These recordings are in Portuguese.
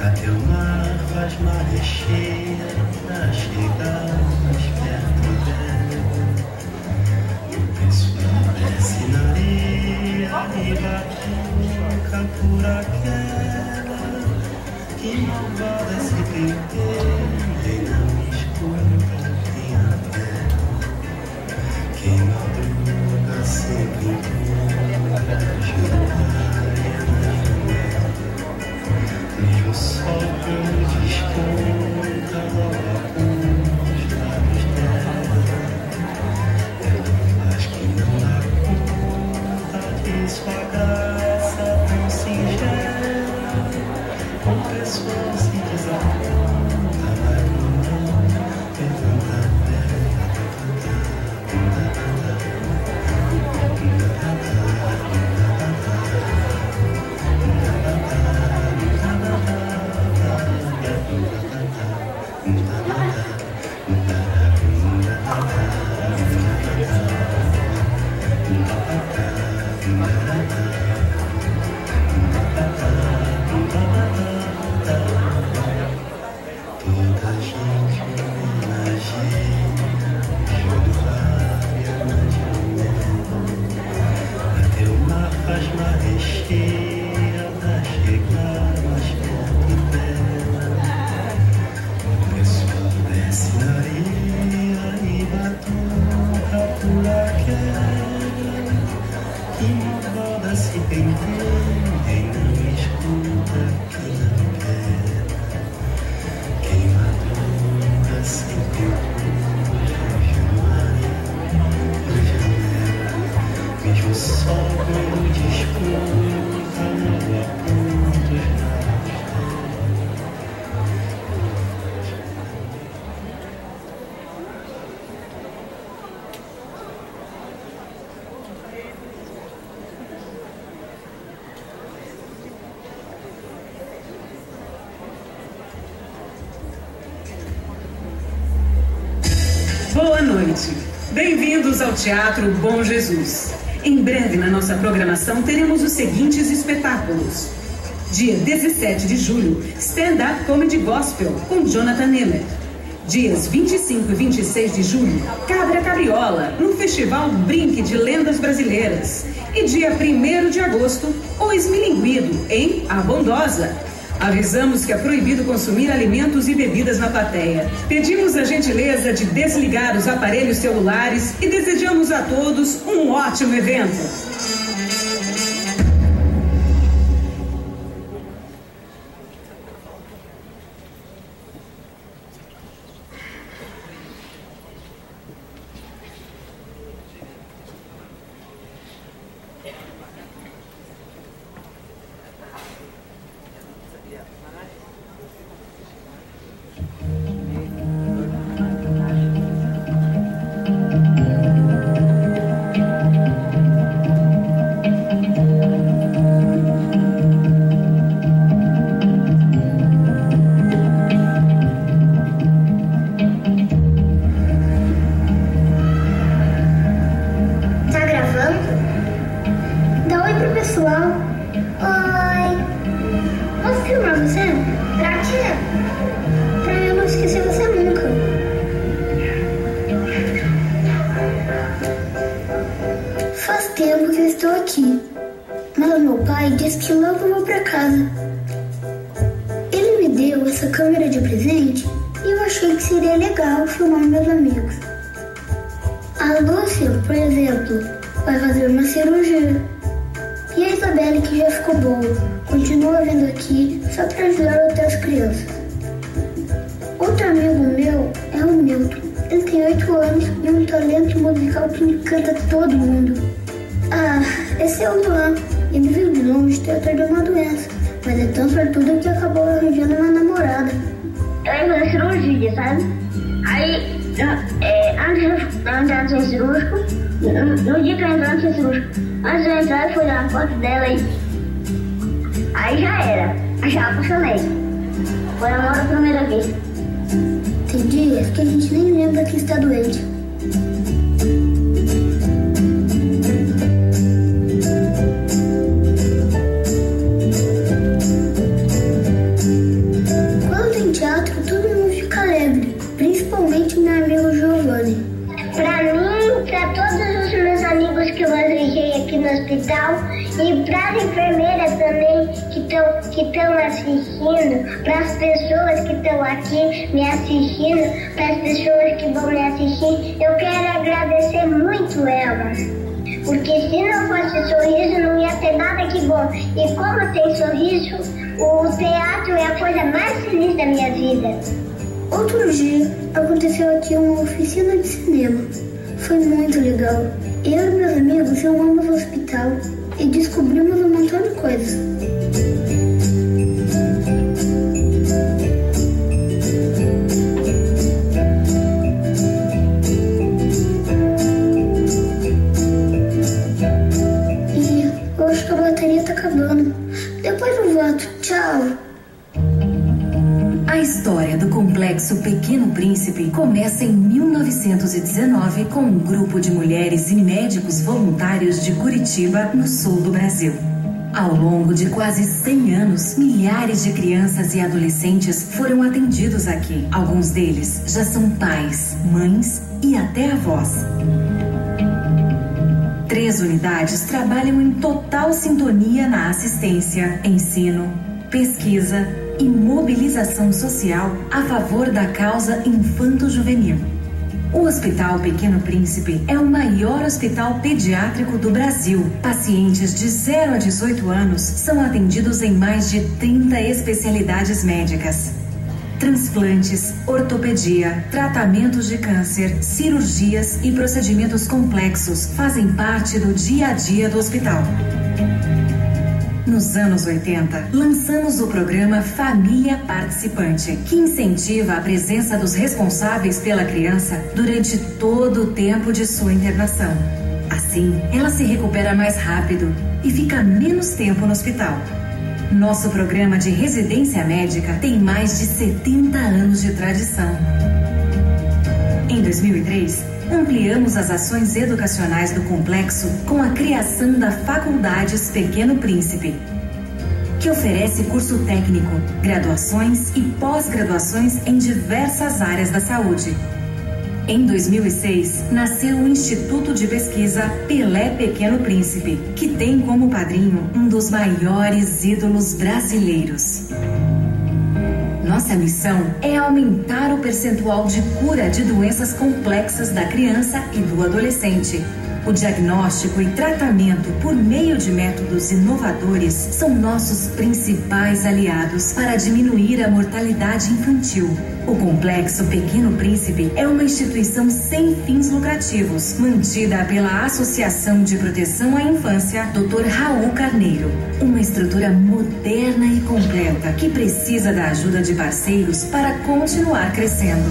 Até o mar faz maré cheia pra chegar mais perto dela. O pessoal desce na areia e batuca por aquela que malvada se penteia e não escuta quem a vela. Quem madruga sempre encontra joia na janela. Mesmo o sol quando desconta logo alguns lábios dela. Ela faz que não dá conta de sua graça tão singela. O pessoal se desaponta, vai mudando, levanta a Boa noite. Bem-vindos ao Teatro Bom Jesus. Em breve na nossa programação teremos os seguintes espetáculos. Dia 17 de julho, Stand-Up Comedy Gospel com Jonathan Nemer. Dias 25 e 26 de julho, Cabra Cabriola, no Festival Brinque de Lendas Brasileiras. E dia 1º de agosto, O Esmilinguido, em A Bondosa. Avisamos que é proibido consumir alimentos e bebidas na plateia. Pedimos a gentileza de desligar os aparelhos celulares e desejamos a todos um ótimo evento. Vai fazer uma cirurgia. E a Isabelle, que já ficou boa, continua vindo aqui só para ajudar outras crianças. Outro amigo meu é o Milton. Ele tem 8 anos e um talento musical que encanta todo mundo. Ah, esse é o Luan. Ele veio de longe tratar de uma doença, mas é tão sortudo que acabou arranjando uma namorada. Eu ia fazer cirurgia, sabe? Aí, antes de ser cirúrgico, no dia que eu entrar no ser cirúrgico, antes de eu entrar, eu fui dar uma foto dela aí já era. Eu já apaixonei. Foi amor à primeira vez. Tem dias que a gente nem lembra que está doente. hospital, e para as enfermeiras também que estão assistindo, para as pessoas que estão aqui me assistindo, para as pessoas que vão me assistir, eu quero agradecer muito elas. Porque se não fosse sorriso, não ia ter nada que bom. E como tem sorriso, o teatro é a coisa mais feliz da minha vida. Outro dia, aconteceu aqui uma oficina de cinema. Foi muito legal. Eu e meus amigos fomos ao hospital e descobrimos um montão de coisas. E eu acho que a bateria tá acabando. Depois eu volto. Tchau. A história do Complexo Pequeno Príncipe começa em 1919 com um grupo de mulheres e médicos voluntários de Curitiba, no sul do Brasil. Ao longo de quase 100 anos, milhares de crianças e adolescentes foram atendidos aqui. Alguns deles já são pais, mães e até avós. 3 unidades trabalham em total sintonia na assistência, ensino, pesquisa e mobilização social a favor da causa infanto-juvenil. O Hospital Pequeno Príncipe é o maior hospital pediátrico do Brasil. Pacientes de 0 a 18 anos são atendidos em mais de 30 especialidades médicas. Transplantes, ortopedia, tratamentos de câncer, cirurgias e procedimentos complexos fazem parte do dia a dia do hospital. Nos anos 80, lançamos o programa Família Participante, que incentiva a presença dos responsáveis pela criança durante todo o tempo de sua internação. Assim, ela se recupera mais rápido e fica menos tempo no hospital. Nosso programa de residência médica tem mais de 70 anos de tradição. Em 2003, ampliamos as ações educacionais do complexo com a criação da Faculdades Pequeno Príncipe, que oferece curso técnico, graduações e pós-graduações em diversas áreas da saúde. Em 2006, nasceu o Instituto de Pesquisa Pelé Pequeno Príncipe, que tem como padrinho um dos maiores ídolos brasileiros. Nossa missão é aumentar o percentual de cura de doenças complexas da criança e do adolescente. O diagnóstico e tratamento por meio de métodos inovadores são nossos principais aliados para diminuir a mortalidade infantil. O Complexo Pequeno Príncipe é uma instituição sem fins lucrativos, mantida pela Associação de Proteção à Infância Dr. Raul Carneiro. Uma estrutura moderna e completa que precisa da ajuda de parceiros para continuar crescendo.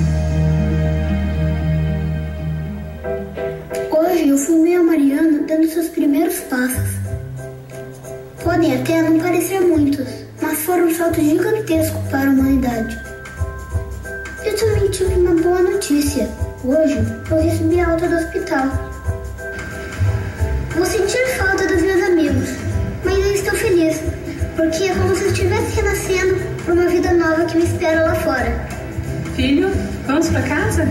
Hoje eu filmei a Mariana dando seus primeiros passos. Podem até não parecer muitos, mas foram um salto gigantesco para a humanidade. Eu também tive uma boa notícia. Hoje eu recebi a alta do hospital. Vou sentir falta dos meus amigos, mas eu estou feliz, porque é como se eu estivesse renascendo para uma vida nova que me espera lá fora. Filho, vamos para casa?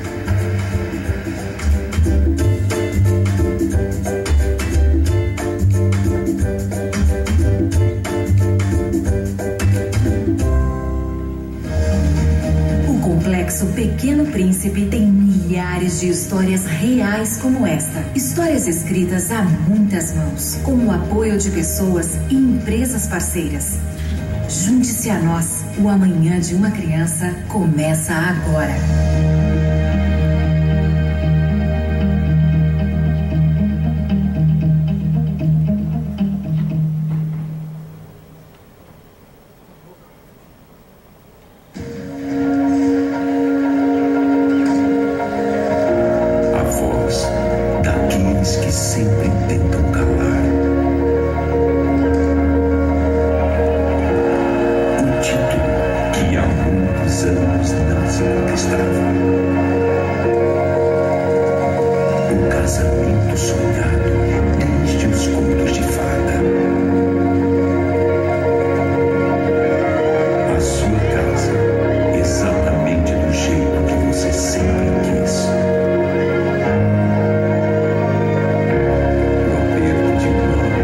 O Pequeno Príncipe tem milhares de histórias reais como esta. Histórias escritas a muitas mãos, com o apoio de pessoas e empresas parceiras. Junte-se a nós. O amanhã de uma criança começa agora. O aperto de mão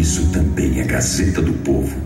isso também é Gazeta do Povo.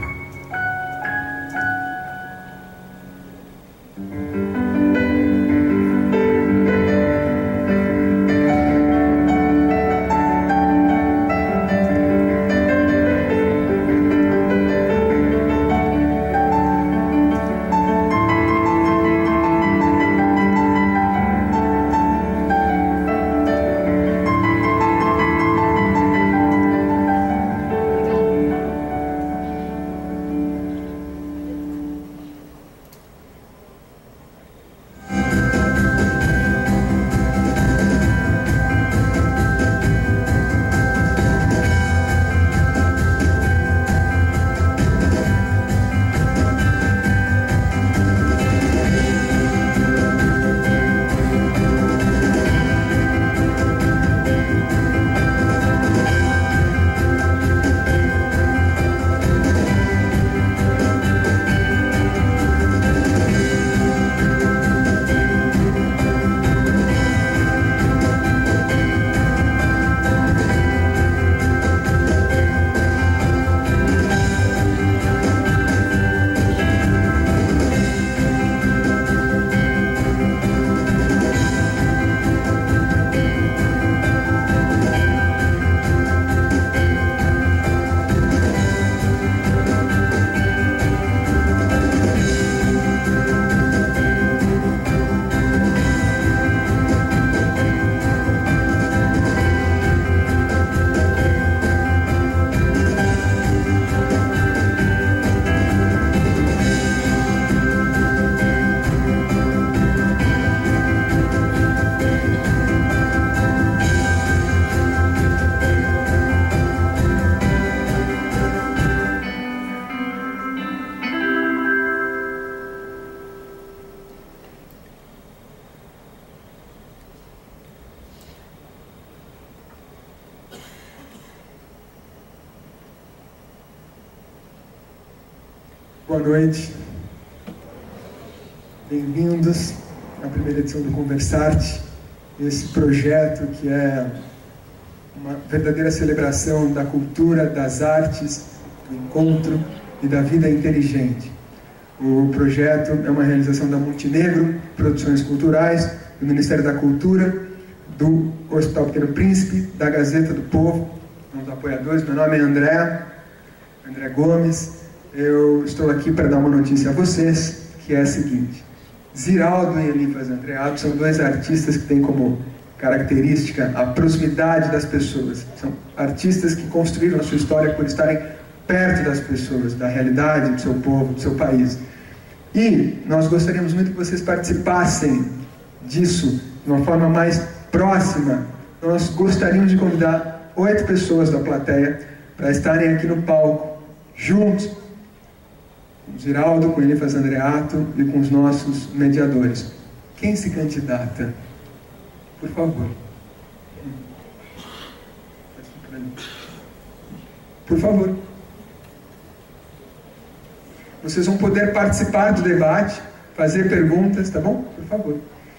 Boa noite, bem-vindos à primeira edição do Conversarte, esse projeto que é uma verdadeira celebração da cultura, das artes, do encontro e da vida inteligente. O projeto é uma realização da Montenegro Produções Culturais, do Ministério da Cultura, do Hospital Pequeno Príncipe, da Gazeta do Povo, os apoiadores. Meu nome é André Gomes. Eu estou aqui para dar uma notícia a vocês, que é a seguinte: Ziraldo e Elifas Andreato são dois artistas que têm como característica a proximidade das pessoas. São artistas que construíram a sua história por estarem perto das pessoas, da realidade do seu povo, do seu país. E nós gostaríamos muito que vocês participassem disso de uma forma mais próxima. Nós gostaríamos de convidar 8 pessoas da plateia para estarem aqui no palco, juntos, com o Ziraldo, com o Elifas Andreato e com os nossos mediadores. Quem se candidata? Por favor. Por favor. Vocês vão poder participar do debate, fazer perguntas, tá bom? Por favor.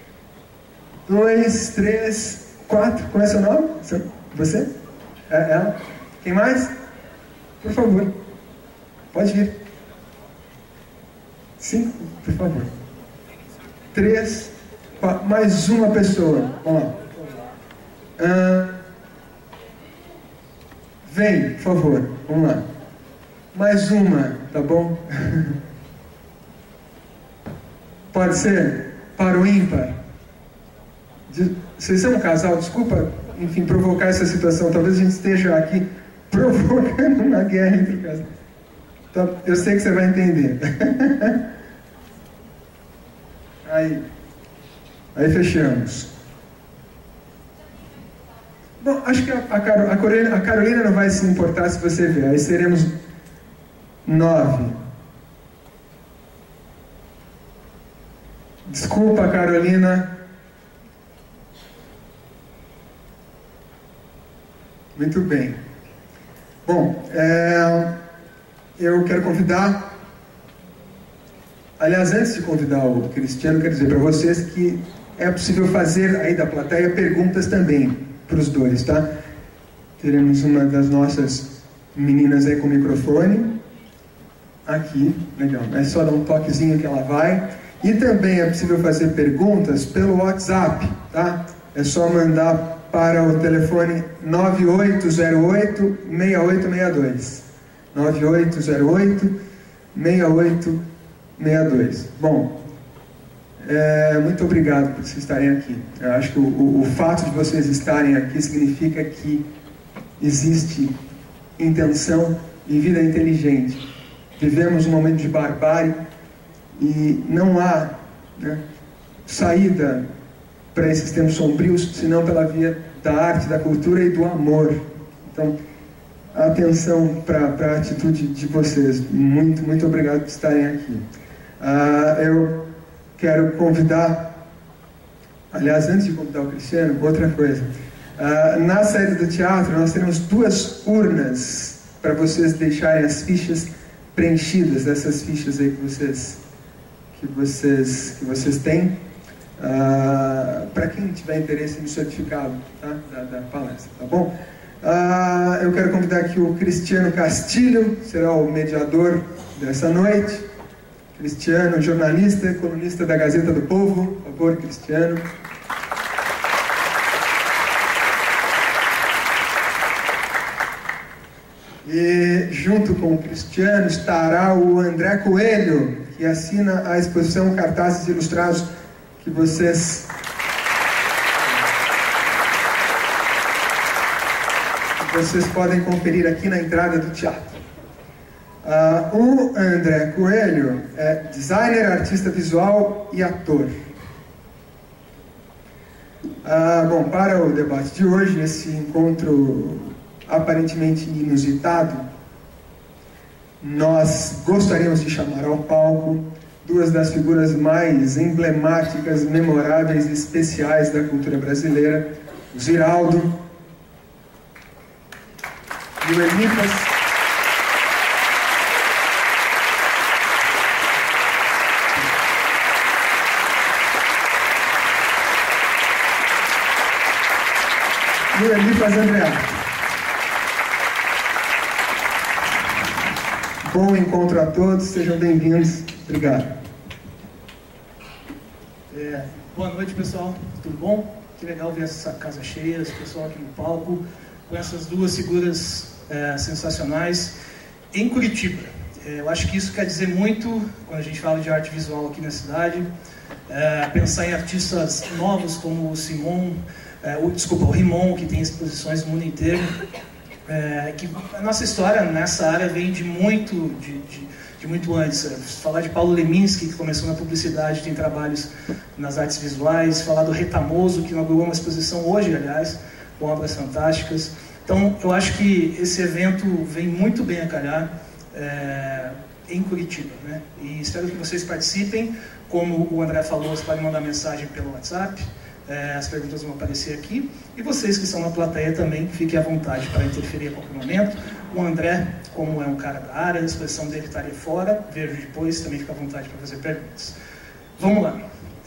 2, 3, 4. Qual é seu nome? Você? Ela? Quem mais? Por favor. Pode vir. 5, por favor. 3, 4. Mais uma pessoa. Vamos lá. Vem, por favor. Vamos lá. Mais uma, tá bom? Pode ser? Para o ímpar? Vocês são um casal? Desculpa, enfim, provocar essa situação. Talvez a gente esteja aqui provocando uma guerra entre o casal. Então, eu sei que você vai entender. Aí fechamos. Bom, acho que a Carolina não vai se importar se você ver. Aí seremos 9. Desculpa, Carolina. Muito bem. Bom, eu quero convidar... Aliás, antes de convidar o Cristiano, quero dizer para vocês que é possível fazer aí da plateia perguntas também para os dois, tá? Teremos uma das nossas Meninas aí com o microfone. Aqui, legal. É só dar um toquezinho que ela vai. E também é possível fazer perguntas pelo WhatsApp, tá? É só mandar para o telefone 9808-6862. 9808-6862. Bom, muito obrigado por vocês estarem aqui. Eu acho que o fato de vocês estarem aqui significa que existe intenção e vida inteligente. Vivemos um momento de barbárie e não há, né, saída para esses tempos sombrios, senão pela via da arte, da cultura e do amor. Então, atenção para a atitude de vocês. Muito, muito obrigado por estarem aqui. Eu quero convidar, aliás, antes de convidar o Cristiano, outra coisa. Na saída do teatro, nós teremos 2 urnas para vocês deixarem as fichas preenchidas, dessas fichas aí que vocês têm, para quem tiver interesse no certificado, tá? da palestra, tá bom? Eu quero convidar aqui o Cristiano Castilho, será o mediador dessa noite. Cristiano, jornalista, colunista da Gazeta do Povo. Por favor, Cristiano. E junto com o Cristiano estará o André Coelho, que assina a exposição Cartazes Ilustrados que vocês podem conferir aqui na entrada do teatro. O André Coelho é designer, artista visual e ator. Bom, para o debate de hoje, esse encontro aparentemente inusitado, nós gostaríamos de chamar ao palco 2 das figuras mais emblemáticas, memoráveis e especiais da cultura brasileira, o Ziraldo e o Elipas. E o Elipas Andreato. Bom encontro a todos, sejam bem-vindos. Obrigado. Boa noite, pessoal. Tudo bom? Que legal ver essa casa cheia, esse pessoal aqui no palco, com essas 2 figuras sensacionais em Curitiba. Eu acho que isso quer dizer muito quando a gente fala de arte visual aqui na cidade. Pensar em artistas novos como o Rimon, que tem exposições no mundo inteiro. Que a nossa história nessa área vem de muito antes. Falar de Paulo Leminski, que começou na publicidade, tem trabalhos nas artes visuais. Falar do Retamoso, que inaugurou uma exposição hoje, aliás, com obras fantásticas. Então, eu acho que esse evento vem muito bem a calhar em Curitiba, né? E espero que vocês participem. Como o André falou, vocês podem mandar mensagem pelo WhatsApp. As perguntas vão aparecer aqui. E vocês que estão na plateia também, fiquem à vontade para interferir a qualquer momento. O André, como é um cara da área, a exposição dele estaria fora. Vejo depois, também fica à vontade para fazer perguntas. Vamos lá.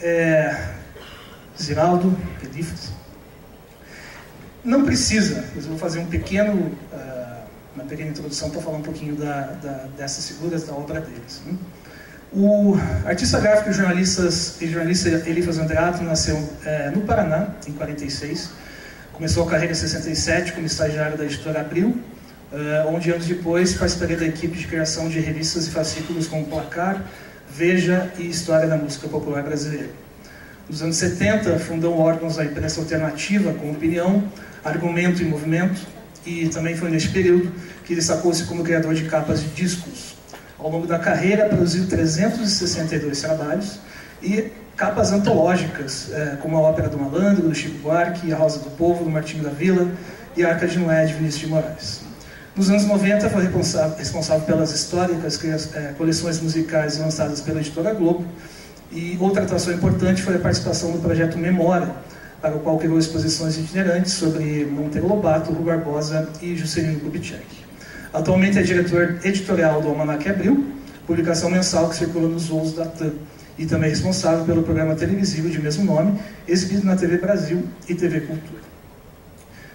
Ziraldo, Elifas. Não precisa, mas eu vou fazer uma pequena introdução para falar um pouquinho dessas figuras, da obra deles. O artista gráfico e jornalista Elifas Andreato nasceu no Paraná, em 46. Começou a carreira em 67 como estagiário da editora Abril, onde anos depois participaria da equipe de criação de revistas e fascículos como Placar, Veja e História da Música Popular Brasileira. Nos anos 70, fundou órgãos da imprensa alternativa como Opinião, Argumento e Movimento, e também foi neste período que destacou-se como criador de capas de discos. Ao longo da carreira, produziu 362 trabalhos e capas antológicas, como a Ópera do Malandro, do Chico Buarque, a Rosa do Povo, do Martinho da Vila e a Arca de Noé, de Vinícius de Moraes. Nos anos 90, foi responsável pelas históricas coleções musicais lançadas pela editora Globo, e outra atuação importante foi a participação no projeto Memória, para o qual criou exposições itinerantes sobre Monteiro Lobato, Rui Barbosa e Juscelino Kubitschek. Atualmente é diretor editorial do Almanac Abril, publicação mensal que circula nos voos da TAM, e também responsável pelo programa televisivo de mesmo nome, exibido na TV Brasil e TV Cultura.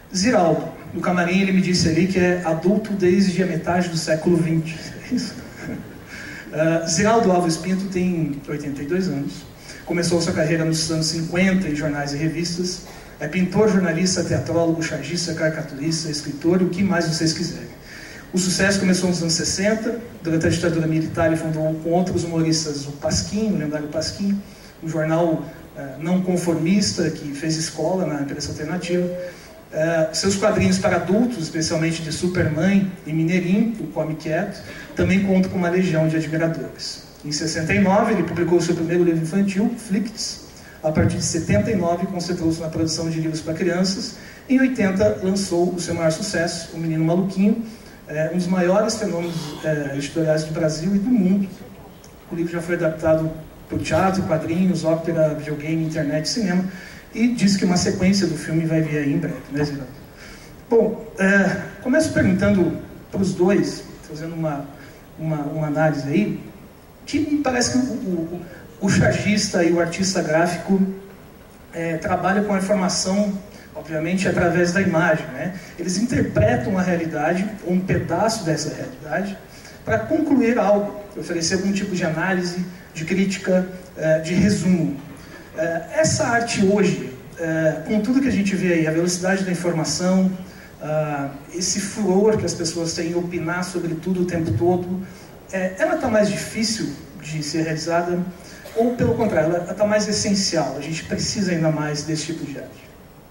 Ziraldo, no camarim ele me disse ali que é adulto desde a metade do século XX. É isso? Ziraldo Alves Pinto tem 82 anos. Começou sua carreira nos anos 50 em jornais e revistas. É pintor, jornalista, teatrólogo, chargista, caricaturista, escritor e o que mais vocês quiserem. O sucesso começou nos anos 60. Durante a ditadura militar ele fundou com outros humoristas o Pasquim, o lendário Pasquim, um jornal não conformista que fez escola na imprensa alternativa. Seus quadrinhos para adultos, especialmente de Supermãe e Mineirinho, o Come Quieto, também contam com uma legião de admiradores. Em 69, ele publicou seu primeiro livro infantil, Flicts. A partir de 79, concentrou-se na produção de livros para crianças. Em 80, lançou o seu maior sucesso, O Menino Maluquinho, um dos maiores fenômenos editoriais do Brasil e do mundo. O livro já foi adaptado para o teatro, quadrinhos, ópera, videogame, internet, cinema. E diz que uma sequência do filme vai vir aí em breve, né, Ziraldo? Bom, começo perguntando para os dois, fazendo uma análise aí, que me parece que o chargista e o artista gráfico trabalham com a informação, obviamente, através da imagem, né? Eles interpretam a realidade, ou um pedaço dessa realidade, para concluir algo, oferecer algum tipo de análise, de crítica, de resumo. Essa arte hoje, com tudo que a gente vê aí, a velocidade da informação, esse furor que as pessoas têm em opinar sobre tudo o tempo todo, ela está mais difícil de ser realizada ou, pelo contrário, ela está mais essencial? A gente precisa ainda mais desse tipo de arte?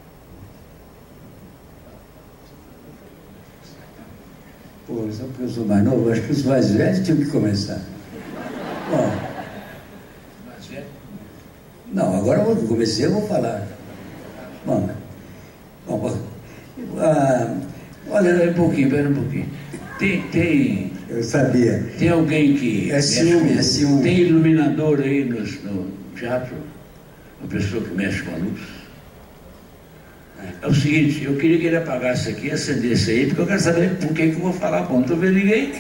Pô, só porque eu sou mais novo, acho que os mais velhos tinham que começar. Bom... Não, agora eu comecei, eu vou falar. Bom, olha, um pouquinho, pera um pouquinho. Tem... Eu sabia. Tem alguém que... É ciúme. Tem iluminador aí no teatro? Uma pessoa que mexe com a luz? É o seguinte, eu queria que ele apagasse aqui, acendesse aí, porque eu quero saber por que eu vou falar. Bom, não estou vendo ninguém.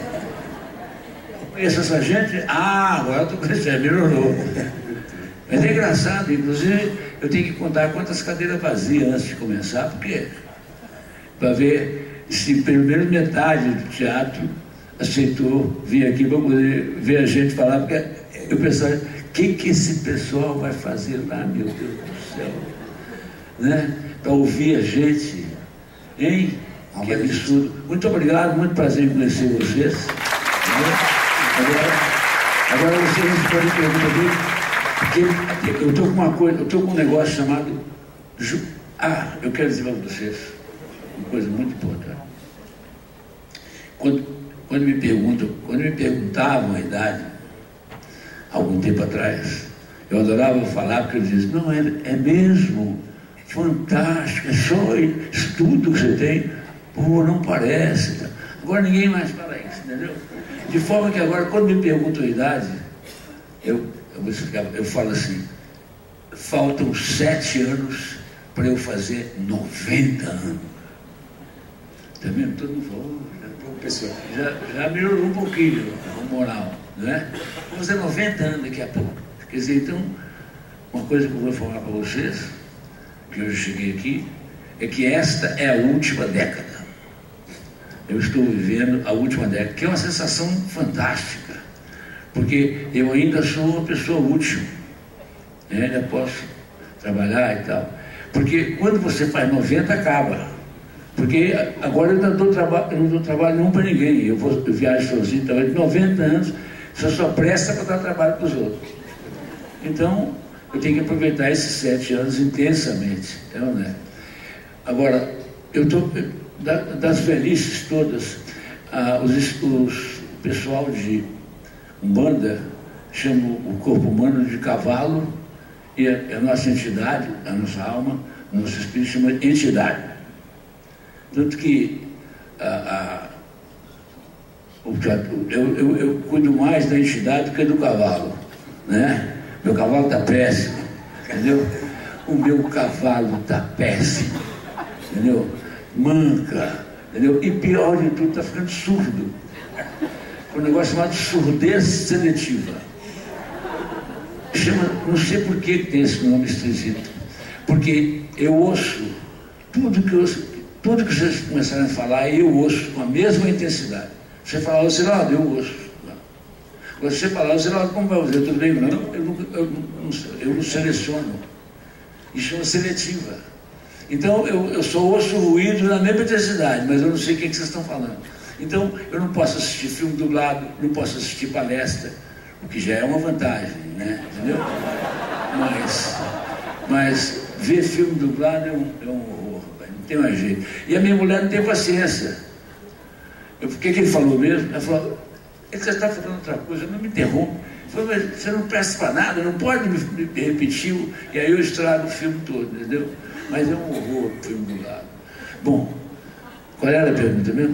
Eu conheço essa gente? Agora eu estou conhecendo, melhorou. Mas é engraçado, inclusive, eu tenho que contar quantas cadeiras vazias antes de começar, porque para ver se pelo menos metade do teatro aceitou vir aqui para poder ver a gente falar, porque eu pensava, o que esse pessoal vai fazer lá, meu Deus do céu, né? Para ouvir a gente, hein? Que absurdo. Muito obrigado, muito prazer em conhecer vocês. Agora vocês podem perguntar aqui. Porque eu estou com uma coisa, eu estou com um negócio chamado... eu quero dizer para vocês uma coisa muito importante. Quando me perguntavam a idade, algum tempo atrás, eu adorava falar, porque eu dizia, não, é mesmo, fantástico, é só estudo que você tem, pô, não parece. Agora ninguém mais fala isso, entendeu? De forma que agora, quando me perguntam a idade, eu falo assim, faltam 7 anos para eu fazer 90 anos. Tá vendo? Todo mundo falou, já melhorou um pouquinho a moral, né? Vou fazer 90 anos daqui a pouco. Quer dizer, então, uma coisa que eu vou falar para vocês, que eu cheguei aqui, é que esta é a última década. Eu estou vivendo a última década, que é uma sensação fantástica. Porque eu ainda sou uma pessoa útil, eu ainda posso trabalhar e tal. Porque quando você faz 90, acaba. Porque agora eu não dou trabalho nenhum para ninguém. Eu viajo sozinho, então, de 90 anos, você só presta para dar trabalho para os outros. Então, eu tenho que aproveitar esses 7 anos intensamente. Então, né? Agora, eu estou, das velhices todas, o pessoal de Umbanda chama o corpo humano de cavalo e a nossa entidade, a nossa alma, o nosso espírito chama de entidade. Tanto que eu cuido mais da entidade do que do cavalo, né? Meu cavalo está péssimo, entendeu? O meu cavalo está péssimo, entendeu? Manca, entendeu? E pior de tudo, está ficando surdo. Um negócio chamado surdez seletiva. Não sei por que tem esse nome esquisito. Porque eu ouço tudo que vocês começaram a falar, eu ouço com a mesma intensidade. Você fala, Ziraldo, eu ouço. Você fala, Ziraldo, como vai fazer? Tudo bem? Não, eu não seleciono. Isso é uma seletiva. Então, eu só ouço ruído na mesma intensidade, mas eu não sei o que vocês estão falando. Então, eu não posso assistir filme dublado, não posso assistir palestra, o que já é uma vantagem, né? Entendeu? Mas ver filme dublado é um horror, não tem mais jeito. E a minha mulher não tem paciência. O que ele falou mesmo? Ela falou, você está falando outra coisa, não me interrompe. Falei, mas você não presta para nada, não pode me repetir, e aí eu estrago o filme todo, entendeu? Mas é um horror o filme dublado. Bom, qual era a pergunta mesmo?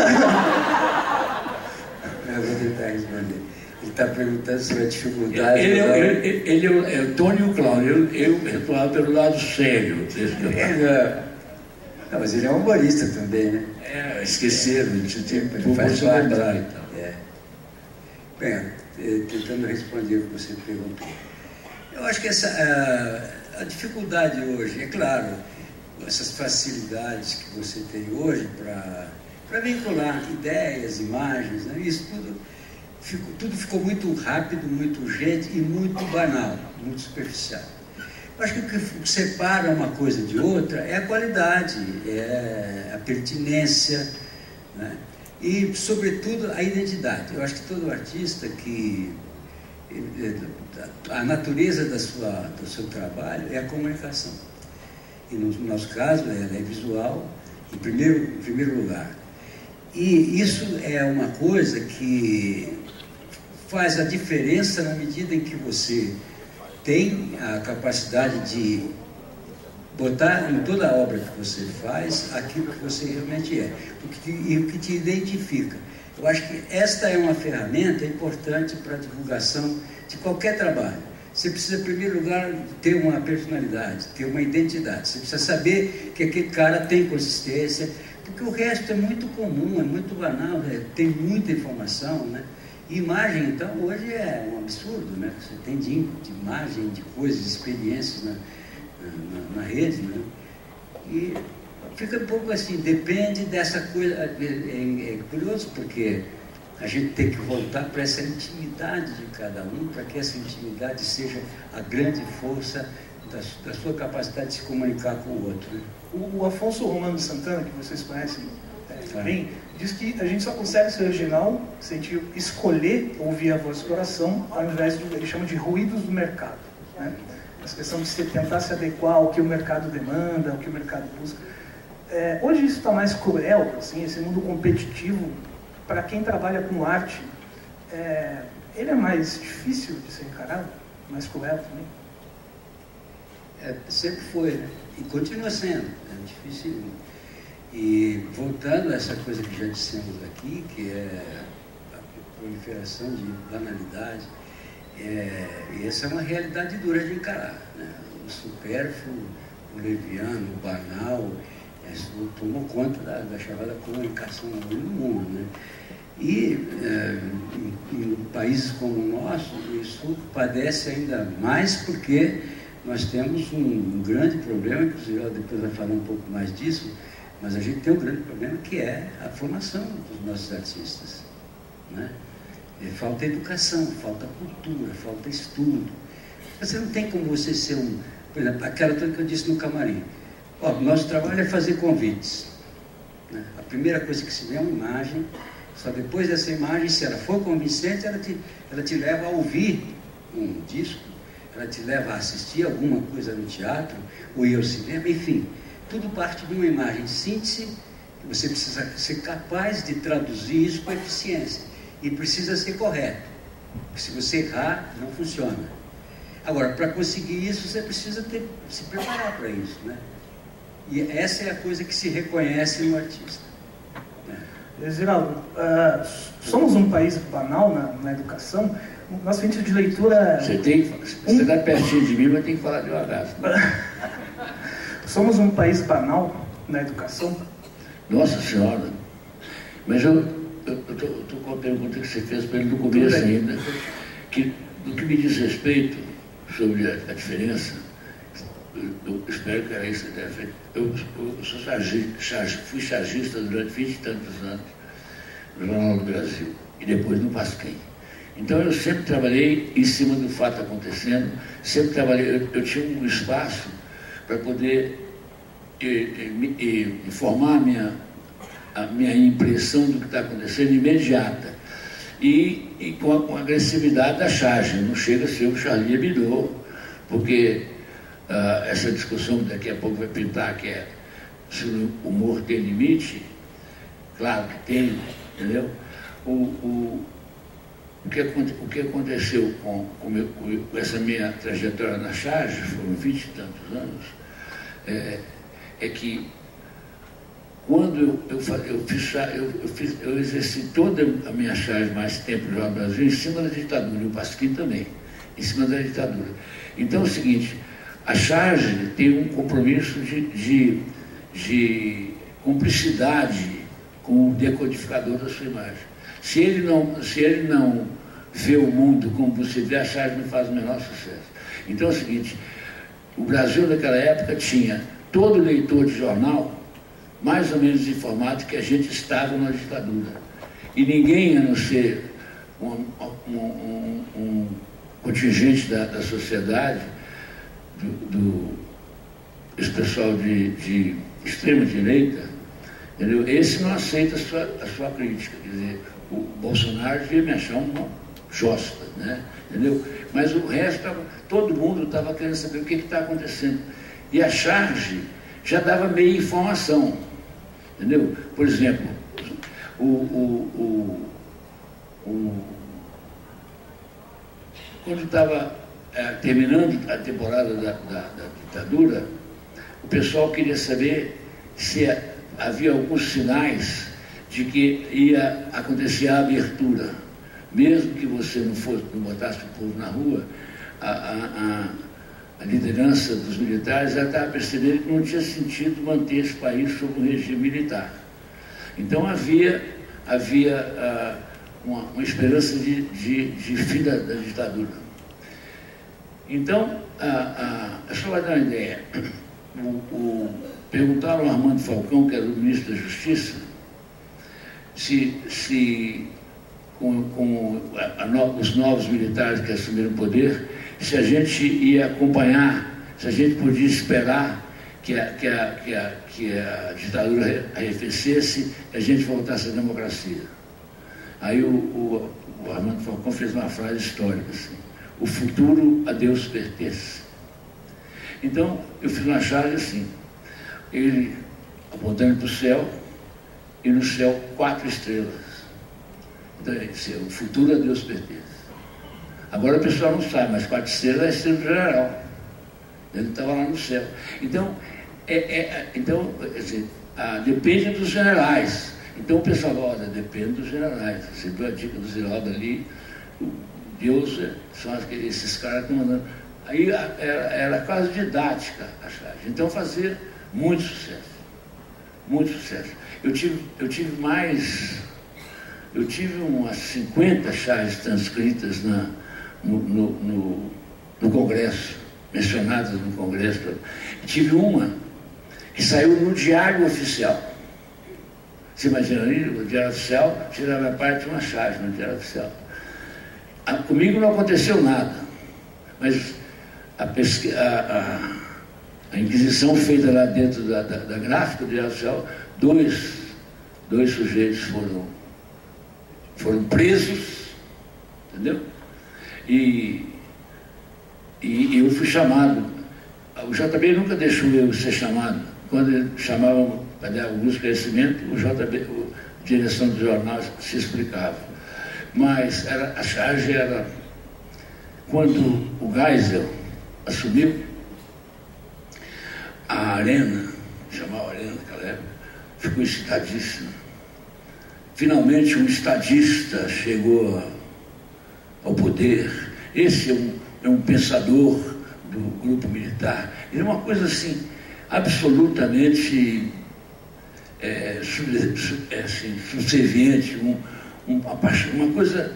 Eu vou tentar responder. Ele está perguntando sobre a dificuldade. Ele é o Tony e o Cláudio. Eu atuava pelo lado sério. Não, mas ele é um humorista também, né? Esqueceram, ele faz parte. Então. Bem, tentando responder o que você perguntou. Eu acho que a dificuldade hoje, é claro, essas facilidades que você tem hoje para vincular ideias, imagens, né? Isso tudo ficou muito rápido, muito urgente e muito banal, muito superficial. Eu acho que o que separa uma coisa de outra é a qualidade, é a pertinência, né? E, sobretudo, a identidade. Eu acho que todo artista a natureza do seu trabalho é a comunicação. E no nosso caso, ela é visual, em primeiro lugar. E isso é uma coisa que faz a diferença na medida em que você tem a capacidade de botar em toda a obra que você faz aquilo que você realmente é, e o que te identifica. Eu acho que esta é uma ferramenta importante para a divulgação de qualquer trabalho. Você precisa, em primeiro lugar, ter uma personalidade, ter uma identidade. Você precisa saber que aquele cara tem consistência, porque o resto é muito comum, é muito banal, né? Tem muita informação, né? E imagem, então, hoje é um absurdo, né? Você tem de imagem, de coisas, de experiências na rede, né? E fica um pouco assim, depende dessa coisa. É curioso, porque a gente tem que voltar para essa intimidade de cada um, para que essa intimidade seja a grande força da sua capacidade de se comunicar com o outro, né? O Afonso Romano de Santana, que vocês conhecem bem, diz que a gente só consegue ser original se a gente escolher ouvir a voz do coração, ao invés de, ele chama de ruídos do mercado, né? Essa questão de se tentar se adequar ao que o mercado demanda, ao que o mercado busca. Hoje isso está mais cruel, assim, esse mundo competitivo, para quem trabalha com arte, ele é mais difícil de ser encarado, mais cruel também. Sempre foi, né? E continua sendo, é difícil. E voltando a essa coisa que já dissemos aqui, que é a proliferação de banalidade, e essa é uma realidade dura de encarar, né? O supérfluo, o leviano, o banal, isso tomou conta da chamada comunicação no mundo, né? E em países como o nosso, isso padece ainda mais porque nós temos um grande problema, inclusive depois vai falar um pouco mais disso, mas a gente tem um grande problema que é a formação dos nossos artistas, né? Falta educação, falta cultura, falta estudo. Você não tem como você ser por exemplo, aquela coisa que eu disse no camarim. Nosso trabalho é fazer convites, né? A primeira coisa que se vê é uma imagem, só depois dessa imagem, se ela for convincente, ela te leva a ouvir um disco, ela te leva a assistir alguma coisa no teatro, ou ir ao cinema, enfim. Tudo parte de uma imagem de síntese, que você precisa ser capaz de traduzir isso com eficiência. E precisa ser correto. Porque se você errar, não funciona. Agora, para conseguir isso, você precisa se preparar para isso, né? E essa é a coisa que se reconhece no artista, né? Ziraldo, somos um país banal na educação. Nosso índice de leitura... Você está pertinho de mim, mas tem que falar devagar. Somos um país banal na educação? Nossa Senhora! Mas eu estou com a pergunta que você fez para ele no começo ainda, que, do que me diz respeito sobre a diferença, eu espero que era isso que tenha feito. Eu fui chargista durante 20 e tantos anos no Jornal do Brasil e depois no Pasquim. Então eu sempre trabalhei em cima do fato acontecendo, sempre trabalhei, eu tinha um espaço para poder informar a minha impressão do que está acontecendo imediata e com a agressividade da charge, não chega a ser o Charlie Hebdo, porque essa discussão daqui a pouco vai pintar que é se o humor tem limite, claro que tem, entendeu? O que aconteceu com essa minha trajetória na charge, foram 20 e tantos anos, é que quando eu exerci toda a minha charge mais tempo no Jornal do Brasil em cima da ditadura, e o Pasquim também, em cima da ditadura. Então é o seguinte, a charge tem um compromisso de cumplicidade com o decodificador da sua imagem. Se ele não vê o mundo como você vê, a charge não faz o menor sucesso. Então é o seguinte, o Brasil naquela época tinha todo leitor de jornal mais ou menos informado que a gente estava na ditadura. E ninguém, a não ser um contingente da sociedade, esse pessoal de extrema direita, entendeu? Esse não aceita a sua crítica. Quer dizer, o Bolsonaro devia me achar uma josta, né? Entendeu? Mas o resto, todo mundo estava querendo saber o que está acontecendo. E a charge já dava meia informação, entendeu? Por exemplo, quando estava terminando a temporada da ditadura, o pessoal queria saber se havia alguns sinais de que ia acontecer a abertura. Mesmo que você não botasse o povo na rua, a liderança dos militares já estava percebendo que não tinha sentido manter esse país sob um regime militar. Então havia uma esperança de fim da ditadura. Então, só para dar uma ideia, perguntaram ao Armando Falcão, que era o ministro da Justiça, se com os novos militares que assumiram o poder, se a gente ia acompanhar, se a gente podia esperar que a ditadura arrefecesse e a gente voltasse à democracia. Aí o Armando Falcão fez uma frase histórica assim: o futuro a Deus pertence. Então eu fiz uma charge assim, ele apontando para o céu e no céu 4 estrelas. Então ele disse: o futuro a Deus pertence. Agora o pessoal não sabe, mas 4 estrelas é a estrela do general. Ele estava lá no céu. Então, depende dos generais. Então o pessoal, olha, depende dos generais. Você deu a dica do Ziraldo ali, Deus, são esses caras que estão mandando. Aí era quase didática a charge. Então fazia muito sucesso. Muito sucesso. Eu tive umas 50 charges transcritas no Congresso, mencionadas no Congresso. Tive uma que saiu no Diário Oficial. Você imagina ali, o Diário Oficial tirava a parte de uma charge no Diário Oficial. Comigo não aconteceu nada, mas a inquisição feita lá dentro da gráfica do Diário Oficial, dois sujeitos foram presos, entendeu? E eu fui chamado. O JB nunca deixou eu ser chamado. Quando ele chamava para dar algum esclarecimento, a direção do jornal se explicava. Mas a charge era quando o Geisel assumiu a Arena, chamava Arena naquela época, ficou excitadíssimo. Finalmente um estadista chegou ao poder. Esse é um pensador do grupo militar. Ele é uma coisa assim, absolutamente subserviente, uma coisa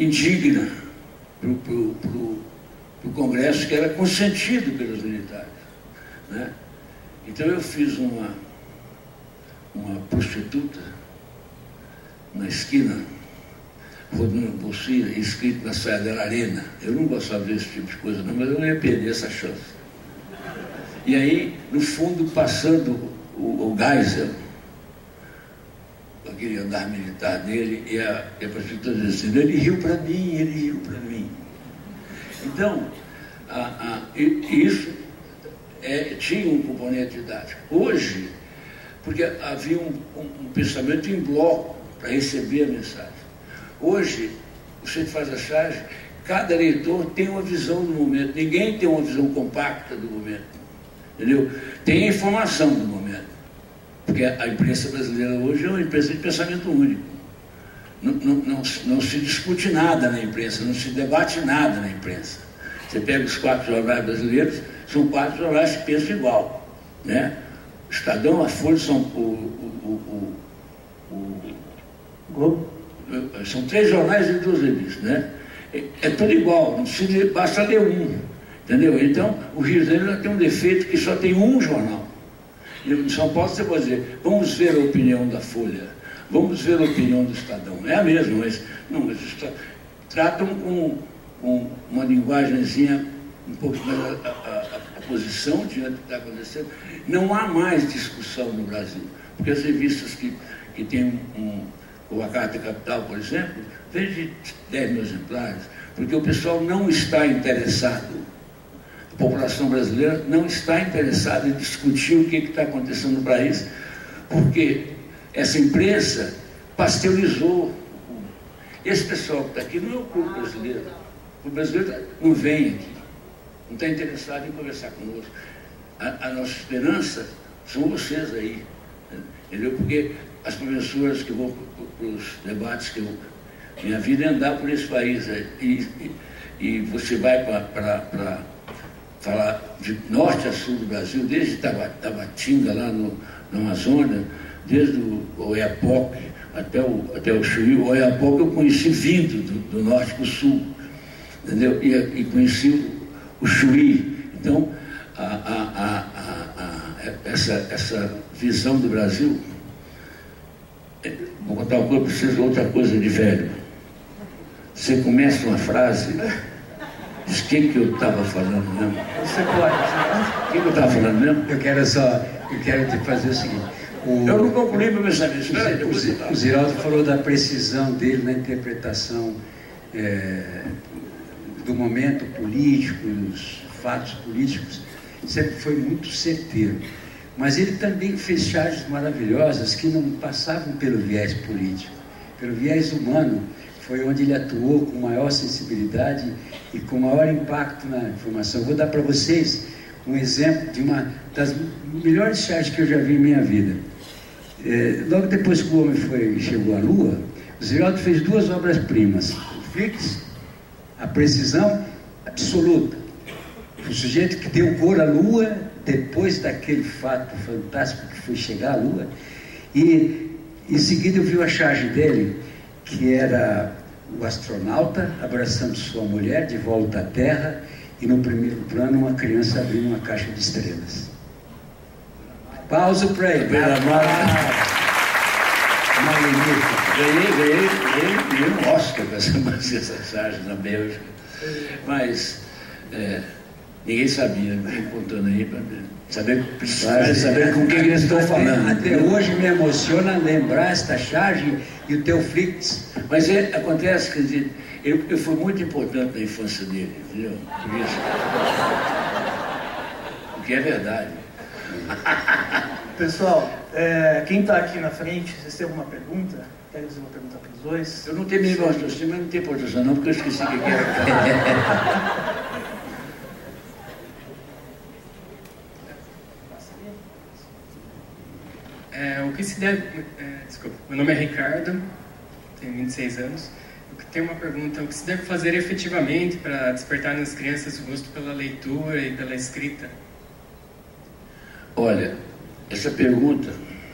indigna para o Congresso, que era consentido pelos militares. né? Então eu fiz uma prostituta na esquina, rodando bolsinha, escrito na saia dela Arena. Eu não gostava desse tipo de coisa não, mas eu não ia perder essa chance. E aí, no fundo, passando o Geisel, aquele andar militar dele, e a prostituta dizendo, ele riu para mim, ele riu para mim. Então, isso tinha um componente didático. Hoje, porque havia um pensamento em bloco para receber a mensagem. Hoje, você faz a charge, cada leitor tem uma visão do momento, ninguém tem uma visão compacta do momento, entendeu? Tem a informação do momento, porque a imprensa brasileira hoje é uma imprensa de pensamento único. Não se discute nada na imprensa, não se debate nada na imprensa. Você pega os 4 jornais brasileiros, são 4 jornais que pensam igual, né? O Estadão, a Folha, Globo. São 3 jornais e 2 revistas, né? É tudo igual, não se basta ler um, entendeu? Então, o Rio de Janeiro tem um defeito que só tem um jornal. E em São Paulo você pode dizer, vamos ver a opinião da Folha, vamos ver a opinião do Estadão. É a mesma, mas tratam com uma linguagenzinha um pouco mais a posição diante do que está acontecendo. Não há mais discussão no Brasil, porque as revistas que têm como a Carta Capital, por exemplo, vende 10 mil exemplares, porque o pessoal não está interessado, a população brasileira não está interessada em discutir o que está acontecendo no país, porque essa imprensa pasteurizou. Esse pessoal que está aqui não é o povo brasileiro. O brasileiro não vem aqui, não está interessado em conversar conosco. A nossa esperança são vocês aí, entendeu? Porque as professoras que vão para os debates, minha vida é andar por esse país, e você vai para falar de norte a sul do Brasil, desde Tabatinga, lá no Amazônia, desde o Oiapoque até o Chuí. O Oiapoque eu conheci vindo do norte para o sul, entendeu? E conheci o Chuí. Então, essa visão do Brasil, vou contar uma coisa para vocês, outra coisa de velho. Você começa uma frase, diz o que eu estava falando mesmo? Você pode. O que eu estava falando mesmo? Eu quero te fazer o seguinte. Eu não concluí meu pensamento. O Ziraldo falou da precisão dele na interpretação do momento político, dos fatos políticos, sempre foi muito certeiro. Mas ele também fez charges maravilhosas que não passavam pelo viés político, pelo viés humano. Foi onde ele atuou com maior sensibilidade e com maior impacto na informação. Vou dar para vocês um exemplo de uma das melhores charges que eu já vi em minha vida. Logo depois que o homem chegou à Lua, o Ziraldo fez 2 obras-primas. O Flix, a precisão absoluta. O sujeito que deu cor à Lua depois daquele fato fantástico que foi chegar à Lua. E em seguida eu vi a charge dele, que era o astronauta abraçando sua mulher de volta à Terra, e no primeiro plano uma criança abrindo uma caixa de estrelas. Pausa para ele. Ganhei um Oscar com essa charge na Bélgica, mas ninguém sabia, me contando aí para saber com quem eles estão falando. Até hoje me emociona lembrar esta charge e o teu Flix. Mas acontece, quer dizer, eu fui muito importante na infância dele, entendeu? Por isso. O que é verdade. Pessoal, quem está aqui na frente, vocês têm alguma pergunta? Querem fazer uma pergunta para os dois? Eu não tenho nenhum raciocínio, mas não tem importância não, porque eu esqueci o que era. O que se deve... desculpa, meu nome é Ricardo, tenho 26 anos. Eu tenho uma pergunta: o que se deve fazer efetivamente para despertar nas crianças o gosto pela leitura e pela escrita? Olha, essa pergunta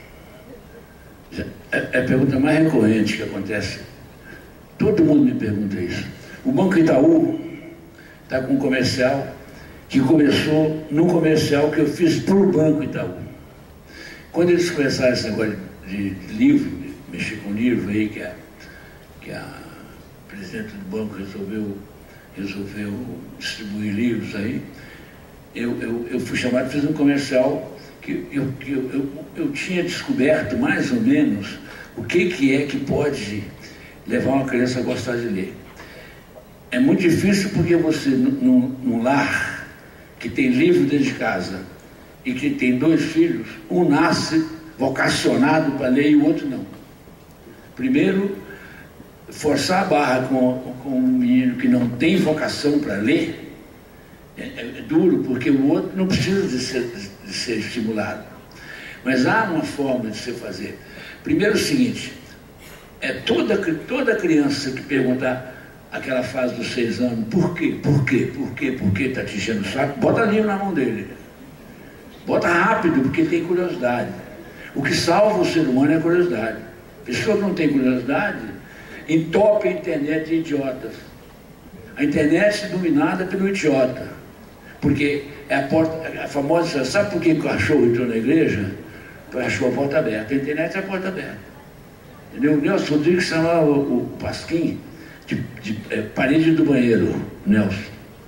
é a pergunta mais recorrente que acontece. Todo mundo me pergunta isso. O Banco Itaú está com um comercial que começou num comercial que eu fiz para o Banco Itaú. Quando eles começaram esse negócio de livro, de mexer com livro aí, que a presidente do banco resolveu distribuir livros aí, eu fui chamado, fiz um comercial que eu tinha descoberto mais ou menos o que é que pode levar uma criança a gostar de ler. É muito difícil porque você, num lar que tem livro dentro de casa e que tem 2 filhos, um nasce vocacionado para ler e o outro não. Primeiro, forçar a barra com um menino que não tem vocação para ler é duro, porque o outro não precisa de ser estimulado. Mas há uma forma de se fazer. Primeiro, o seguinte, toda criança que perguntar aquela fase dos 6 anos, por quê está te enchendo o saco, bota livro na mão dele. Bota rápido, porque tem curiosidade. O que salva o ser humano é a curiosidade. Pessoa que não tem curiosidade entope a internet de idiotas. A internet é dominada pelo idiota. Porque é a famosa, sabe por que o cachorro entrou na igreja? Porque achou a porta aberta. A internet é a porta aberta. Entendeu? O Nelson Rodrigues chamava o Pasquim de parede do banheiro, Nelson.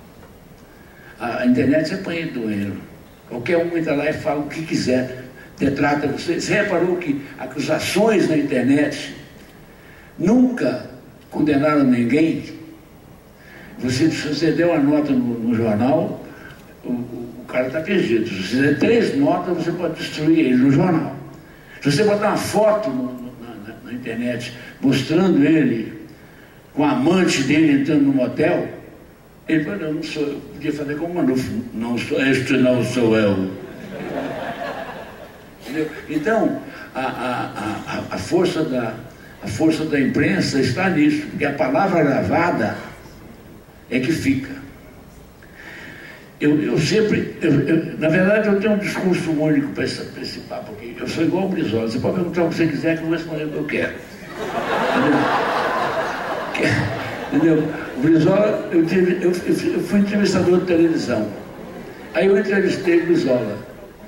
A internet é parede do banheiro. Qualquer um entra lá e fala o que quiser, detrata você. Você reparou que acusações na internet nunca condenaram ninguém? Se você der uma nota no jornal, o cara está perdido. Se você der 3 notas, você pode destruir ele no jornal. Se você botar uma foto na internet mostrando ele com a amante dele entrando no motel, ele falou, não sou eu. Podia fazer como Manufo, este não sou eu. Entendeu? Então, a força da imprensa está nisso, porque a palavra gravada é que fica. Na verdade, eu tenho um discurso único para esse papo aqui. Eu sou igual o Brizola. Você pode perguntar o que você quiser, que eu vou responder o que eu quero. Entendeu? O Brizola, eu fui entrevistador de televisão. Aí eu entrevistei o Brizola.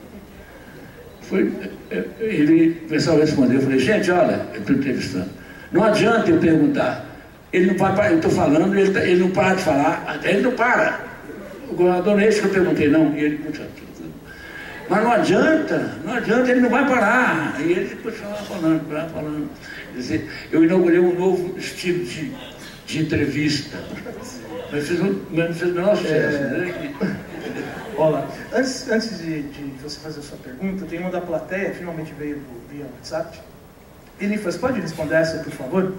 Ele começava a responder. Eu falei, gente, olha, eu estou entrevistando. Não adianta eu perguntar. Ele não para, eu estou falando, ele não para de falar, até ele não para. O governador não é isso que eu perguntei, não. E ele continua. Mas não adianta, ele não vai parar. E ele continuava falando. Quer dizer, eu inaugurei um novo estilo de entrevista. Mas fez o menor sucesso, né? Olá, antes de você fazer a sua pergunta, tem uma da plateia, finalmente veio via WhatsApp. Elifas, pode responder essa, por favor?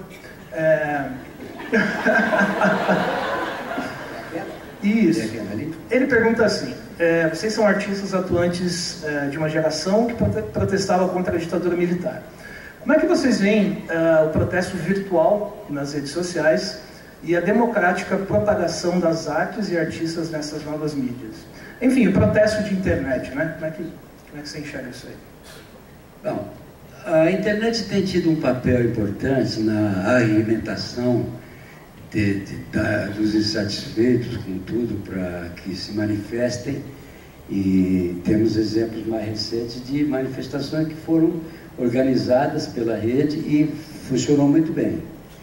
Isso. Ele pergunta assim, vocês são artistas atuantes de uma geração que protestava contra a ditadura militar. Como é que vocês veem o protesto virtual nas redes sociais e a democrática propagação das artes e artistas nessas novas mídias? Enfim, o protesto de internet, né? Como é que você enxerga isso aí? Bom, a internet tem tido um papel importante na alimentação dos insatisfeitos com tudo para que se manifestem, e temos exemplos mais recentes de manifestações que foram organizadas pela rede e funcionou muito bem.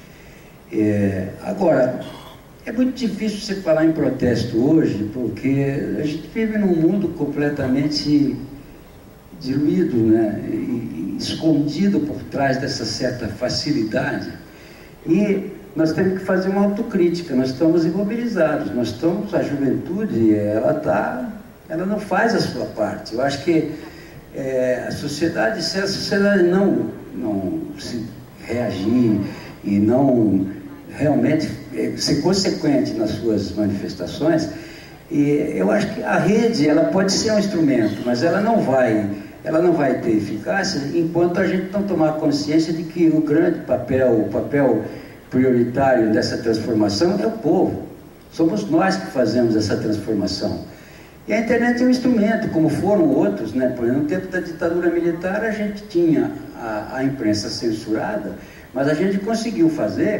Agora, é muito difícil você falar em protesto hoje, porque a gente vive num mundo completamente diluído, né? E escondido por trás dessa certa facilidade. E nós temos que fazer uma autocrítica, nós estamos imobilizados, a juventude, ela não faz a sua parte. Eu acho que se a sociedade não se reagir e não realmente ser consequente nas suas manifestações, eu acho que a rede, ela pode ser um instrumento, mas ela não vai ter eficácia enquanto a gente não tomar consciência de que o grande papel, o papel prioritário dessa transformação é o povo. Somos nós que fazemos essa transformação. E a internet é um instrumento, como foram outros, né? Por exemplo, no tempo da ditadura militar a gente tinha a imprensa censurada, mas a gente conseguiu fazer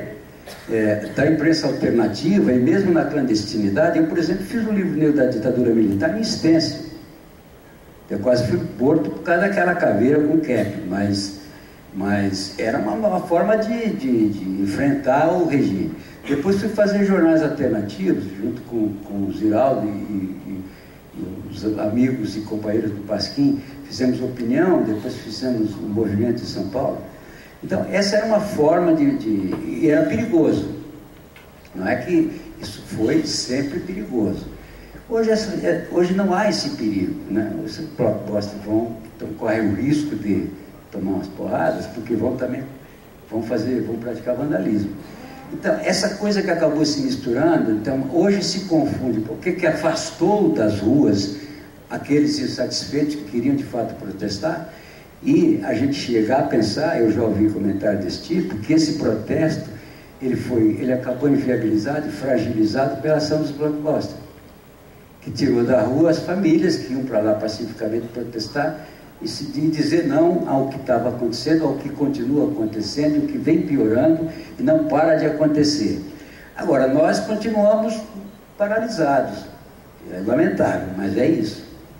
da imprensa alternativa e mesmo na clandestinidade. Eu, por exemplo, fiz um livro negro da ditadura militar em stencil. Eu quase fui morto por causa daquela caveira com cap, mas era uma forma de enfrentar o regime. Depois fui fazer jornais alternativos, junto com o Ziraldo e os amigos e companheiros do Pasquim. Fizemos Opinião, depois fizemos o Movimento em São Paulo. Então, essa era uma forma e era perigoso. Não é que isso foi sempre perigoso. Hoje não há esse perigo, né? Os propostas correm o risco de tomar umas porradas, porque vão praticar vandalismo. Então, essa coisa que acabou se misturando, então, hoje se confunde. O que afastou das ruas aqueles insatisfeitos que queriam de fato protestar, e a gente chegar a pensar, eu já ouvi comentário desse tipo, que esse protesto ele acabou inviabilizado e fragilizado pela ação dos blockbusters, que tirou da rua as famílias que iam para lá pacificamente protestar e dizer não ao que estava acontecendo, ao que continua acontecendo, o que vem piorando e não para de acontecer. Agora, nós continuamos paralisados. É lamentável, mas é isso.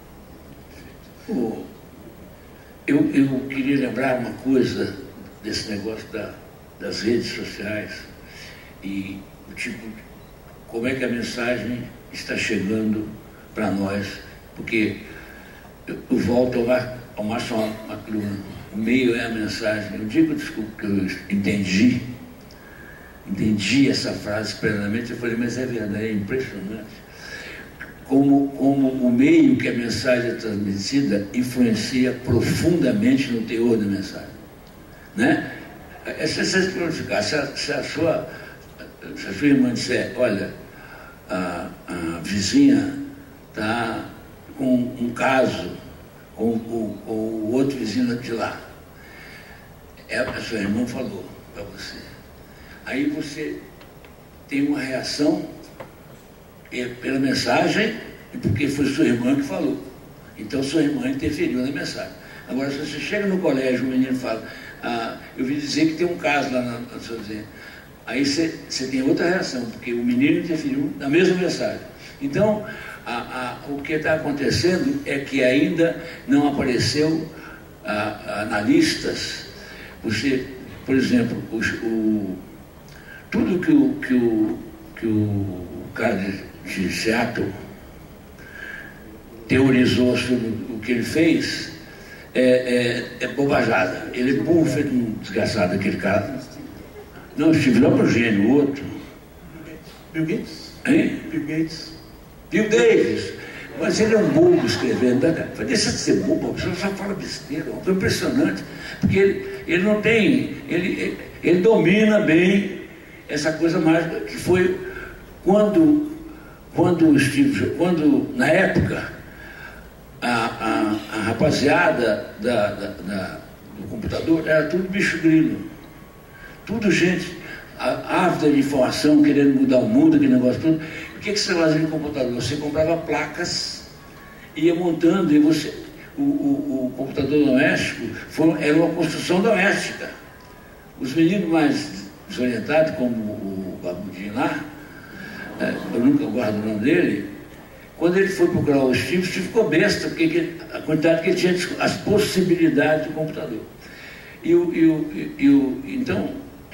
Eu queria lembrar uma coisa desse negócio das redes sociais e o tipo, como é que a mensagem está chegando para nós, porque eu volto ao Márcio McLuhan, o meio é a mensagem. Eu digo, desculpa, que eu entendi essa frase plenamente, eu falei, mas é verdade, é impressionante. Como o meio que a mensagem é transmitida influencia profundamente no teor da mensagem, né? Se a sua irmã disser, olha, a vizinha está com um caso com o outro vizinho de lá, a sua irmã falou para você, aí você tem uma reação pela mensagem e porque foi sua irmã que falou. Então sua irmã interferiu na mensagem. Agora, se você chega no colégio, o menino fala, eu vi dizer que tem um caso lá na sua vizinha. Aí você tem outra reação, porque o menino interferiu na mesma mensagem. Então, o que está acontecendo é que ainda não apareceu analistas. Você, por exemplo, tudo que o cara de Seattle teorizou sobre o que ele fez é bobajada. Ele é burro, feito um desgraçado, aquele cara. Não, Steve não é o gênio, o outro. Bill Gates? Hein? Bill Gates. Bill Davis. Mas ele é um bobo escrevendo. Deixa de ser bobo, você só fala besteira. É impressionante. Porque ele não tem. Ele domina bem essa coisa mágica que foi quando na época, a rapaziada do computador era tudo bicho grilo. Tudo gente ávida de informação, querendo mudar o mundo, aquele negócio todo. O que você fazia no computador? Você comprava placas, ia montando, e o computador doméstico era uma construção doméstica. Os meninos mais desorientados, como o Babudinho lá, eu nunca guardo o nome dele, quando ele foi procurar o Steve ficou besta, porque a quantidade que ele tinha, as possibilidades do computador. Então,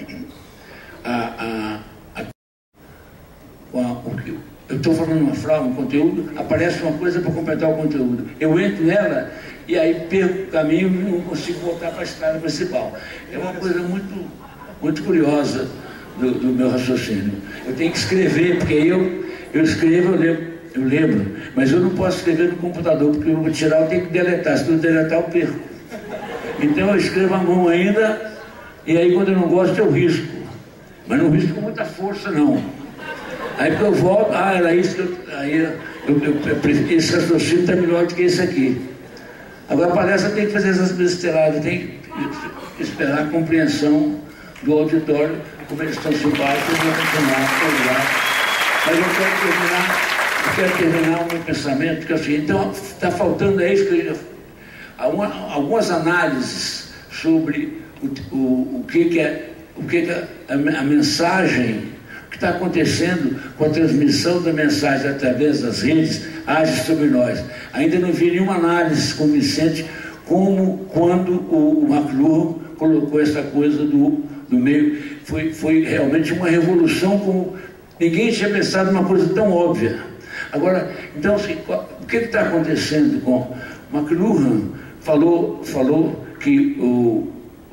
eu estou falando uma frase, um conteúdo, aparece uma coisa para completar o conteúdo. Eu entro nela e aí perco o caminho e não consigo voltar para a estrada principal. É uma coisa muito, muito curiosa do meu raciocínio. Eu tenho que escrever, porque eu escrevo, eu lembro, mas eu não posso escrever no computador, porque eu vou tirar, eu tenho que deletar. Se não deletar, eu perco. Então eu escrevo à mão ainda, e aí quando eu não gosto, eu risco. Mas não risco com muita força, não. Aí que eu volto, era isso que esse raciocínio está melhor do que esse aqui. Agora, a palestra tem que fazer essas besteiradas, tem que esperar a compreensão do auditório, como eles estão simpáticos, eu vou continuar. Mas eu quero terminar o meu pensamento, que é assim, então está faltando isso que eu algumas análises sobre o que é a mensagem, o que está acontecendo com a transmissão da mensagem através das redes age sobre nós. Ainda não vi nenhuma análise convincente como quando o McLuhan colocou essa coisa do meio. Foi realmente uma revolução, como ninguém tinha pensado numa coisa tão óbvia. Agora, então, assim, o que está acontecendo com McLuhan? Falou que o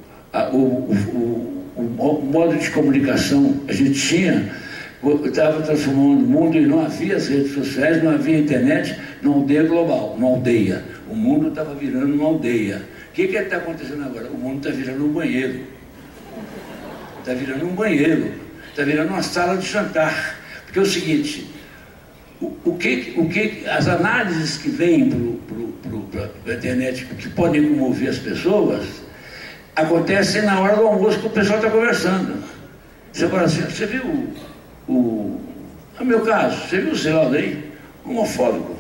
modo de comunicação a gente tinha, estava transformando o mundo, e não havia as redes sociais, não havia internet, numa aldeia global, uma aldeia. O mundo estava virando uma aldeia. O que está acontecendo agora? O mundo está virando um banheiro. Está virando um banheiro. Está virando uma sala de jantar. Porque é o seguinte, as análises que vêm para a internet, que podem comover as pessoas, acontecem na hora do almoço que o pessoal está conversando. Você fala assim, você viu no meu caso, você viu o Zeraldo aí? Homofóbico,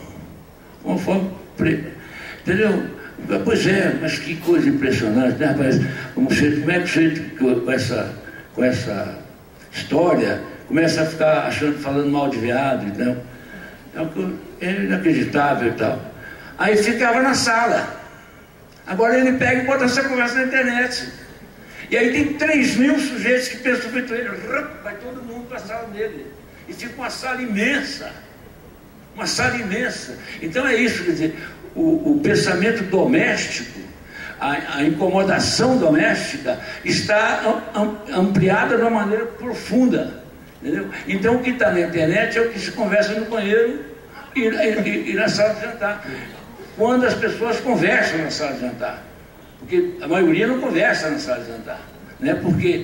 entendeu? Pois é, mas que coisa impressionante, né, rapaz? Como é que você, com essa história, começa a ficar falando mal de viado, então, é inacreditável e tal. Aí ficava na sala. Agora ele pega e bota essa conversa na internet. E aí tem 3.000 sujeitos que pensam feito ele, vai todo mundo para a sala dele. E fica uma sala imensa. Uma sala imensa. Então é isso, quer dizer, o pensamento doméstico, a incomodação doméstica está ampliada de uma maneira profunda. Entendeu? Então o que está na internet é o que se conversa no banheiro e na sala de jantar. Quando as pessoas conversam na sala de jantar. Porque a maioria não conversa na sala de jantar. Né? Porque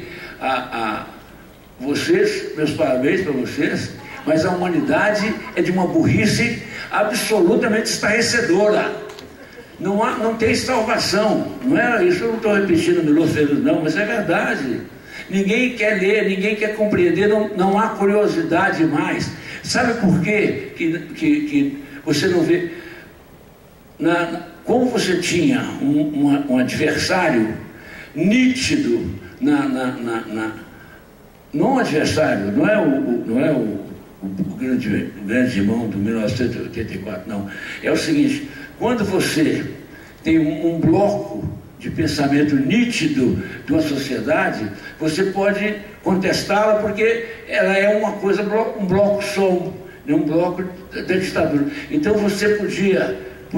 vocês, meus parabéns para vocês, mas a humanidade é de uma burrice absolutamente estarrecedora. Não tem salvação. Não é isso, eu não estou repetindo Milor Ferreira, não, mas é verdade. Ninguém quer ler, ninguém quer compreender, não há curiosidade mais. Sabe por quê que você não vê? Como você tinha um adversário nítido não adversário, não é o grande irmão do 1984, não. É o seguinte, quando você tem um bloco de pensamento nítido de uma sociedade, você pode contestá-la porque ela é uma coisa, um bloco só, um bloco da ditadura. Então você podia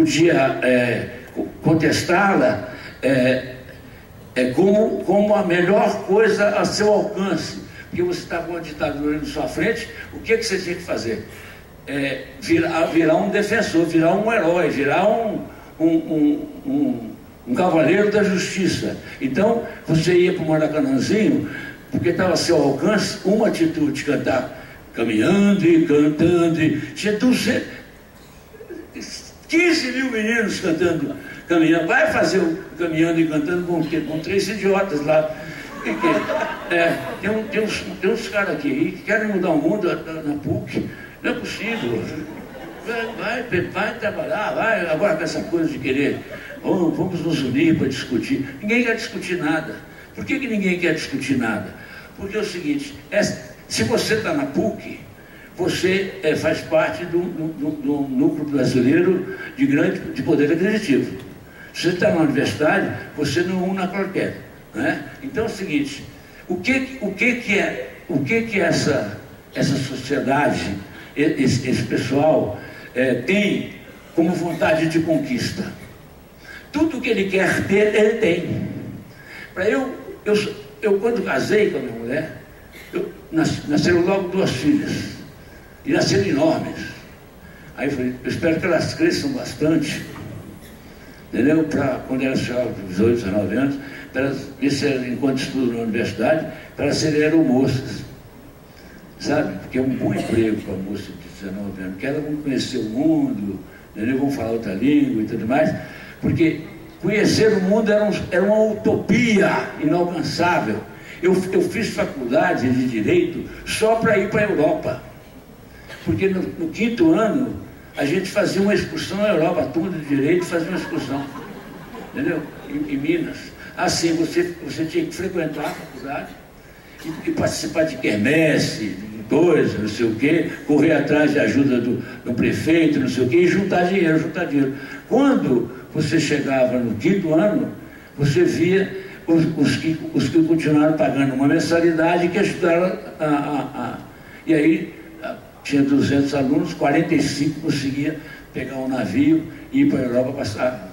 contestá-la como a melhor coisa a seu alcance, porque você está com a ditadura na sua frente. O que você tinha que fazer? Virar um defensor, virar um herói, virar um cavaleiro da justiça. Então você ia para o Maracanãzinho, porque estava a seu alcance uma atitude, cantar caminhando e cantando, tinha 15 mil meninos cantando, caminhando. Vai fazer o caminhando e cantando com 3 idiotas lá. Tem uns caras aqui que querem mudar o mundo na PUC. Não é possível. Vai trabalhar, vai. Agora com essa coisa de querer, vamos nos unir para discutir. Ninguém quer discutir nada. Por que ninguém quer discutir nada? Porque é o seguinte, se você está na PUC, você faz parte do núcleo brasileiro de poder aquisitivo. Se você está na universidade, você não é uma qualquer. Né? Então é o seguinte, o que é essa sociedade, esse pessoal tem como vontade de conquista? Tudo que ele quer ter, ele tem. Eu quando casei com a minha mulher, nasceram logo 2 filhas. E nasceram enormes. Aí eu falei, eu espero que elas cresçam bastante, entendeu? Para quando elas chegaram aos 18, 19 anos, para elas, enquanto estudam na universidade, para elas serem aeromoças. Sabe? Porque é um bom emprego para a moça de 19 anos, porque elas vão conhecer o mundo, entendeu? Vão falar outra língua e tudo mais, porque conhecer o mundo era uma utopia inalcançável. Eu fiz faculdade de Direito só para ir para a Europa. Porque no 5º ano, a gente fazia uma excursão na Europa, a turma de Direito fazia uma excursão, entendeu? Em Minas. Assim, você tinha que frequentar a faculdade, e participar de quermesse, coisa, não sei o quê, correr atrás de ajuda do prefeito, não sei o quê, e juntar dinheiro. Quando você chegava no 5º ano, você via os que continuaram pagando uma mensalidade que ajudaram e aí tinha 200 alunos, 45 conseguia pegar um navio e ir para a Europa passar.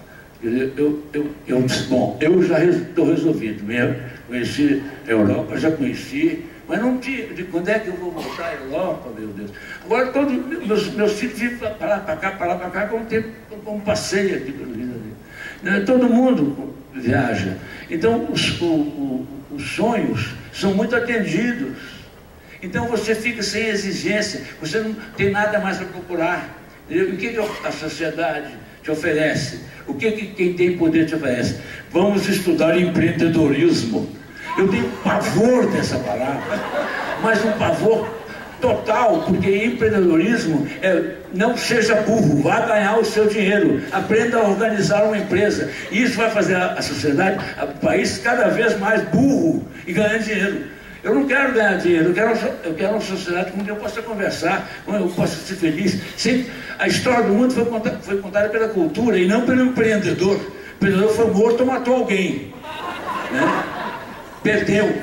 Bom, eu já estou resolvido mesmo, conheci a Europa, já conheci, mas não tinha, de quando é que eu vou voltar à Europa, meu Deus. Agora todos meus filhos vivem para lá, para cá, como passeio aqui pelo Rio de Janeiro. Todo mundo viaja. Então os sonhos são muito atendidos. Então você fica sem exigência, você não tem nada mais a procurar. O que a sociedade te oferece? O que quem tem poder te oferece? Vamos estudar empreendedorismo. Eu tenho pavor dessa palavra, mas um pavor total, porque empreendedorismo não seja burro, vá ganhar o seu dinheiro, aprenda a organizar uma empresa. E isso vai fazer a sociedade, o país cada vez mais burro e ganhando dinheiro. Eu não quero ganhar dinheiro, eu quero uma sociedade com quem eu possa conversar, com quem eu possa ser feliz. Sempre, a história do mundo foi contada pela cultura e não pelo empreendedor. O empreendedor foi morto ou matou alguém, né? Perdeu.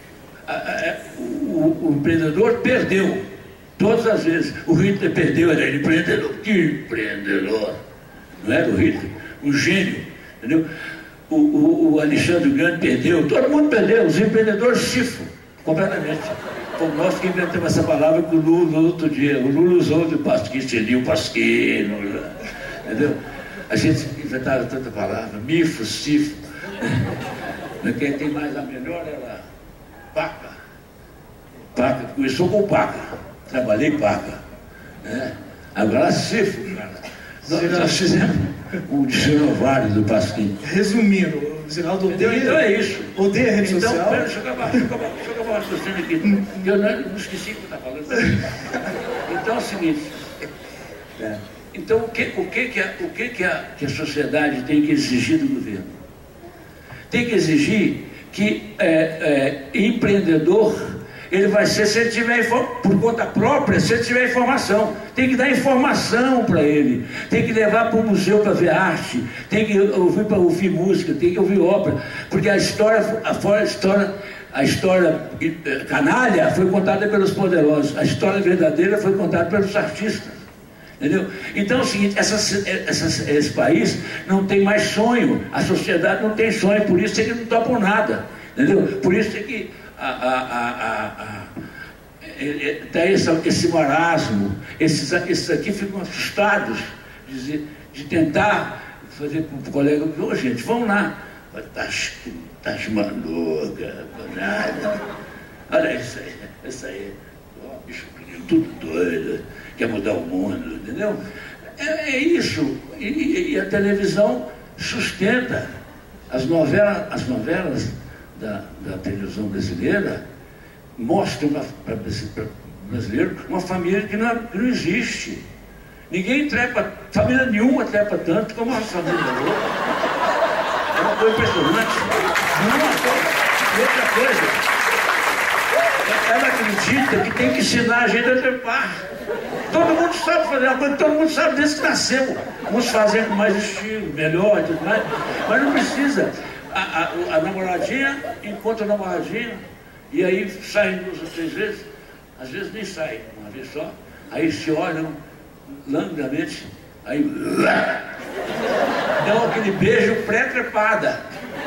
O empreendedor perdeu todas as vezes. O Hitler perdeu, era ele empreendedor. Que empreendedor? Não era o Hitler? Um gênio, entendeu? O Alexandre Grande perdeu, todo mundo perdeu. Os empreendedores chifram completamente. Como nós que inventamos essa palavra com o Lula no outro dia. O Lula usou de pasquim, seria o pasquino, entendeu? A gente inventava tanta palavra, mifo, cifo. Quem tem mais a melhor era Paca. Paca, começou com Paca. Trabalhei Paca. Né? Agora cifo, cara. Nós fizemos o dicionário do pasquim. Resumindo, o Ziraldo odeia. Então é isso. Odeia a rede social. Então, deixa eu acabar o raciocínio aqui. Eu não esqueci o que eu estava falando. Então é o seguinte. Então o que a sociedade tem que exigir do governo? Tem que exigir que empreendedor, ele vai ser, se ele tiver por conta própria, se ele tiver informação. Tem que dar informação para ele, tem que levar para o museu para ver arte, tem que ouvir para ouvir música, tem que ouvir ópera, porque a história canalha foi contada pelos poderosos, a história verdadeira foi contada pelos artistas. Entendeu? Então é o seguinte, esse país não tem mais sonho, a sociedade não tem sonho, por isso é que não topam nada, entendeu? Por isso é que tem esse marasmo, esses aqui ficam assustados de tentar fazer com o colega, ô gente, vamos lá, tá maluca, nada, olha isso aí, ó, bicho, tudo doido, quer mudar o mundo, entendeu? É isso. E a televisão sustenta. As novelas da televisão brasileira mostram para o brasileiro uma família que não existe. Ninguém trepa, família nenhuma trepa tanto como a família brasileira. É uma coisa impressionante. E outra coisa, ela acredita que tem que ensinar a gente a trepar. Todo mundo sabe fazer uma coisa, todo mundo sabe desde que nasceu. Uns fazem com mais estilo, melhor e tudo mais, mas não precisa. A namoradinha encontra a namoradinha e aí saem 2 ou 3 vezes, às vezes nem saem, uma vez só, aí se olham languidamente, aí dão aquele beijo pré-trepada.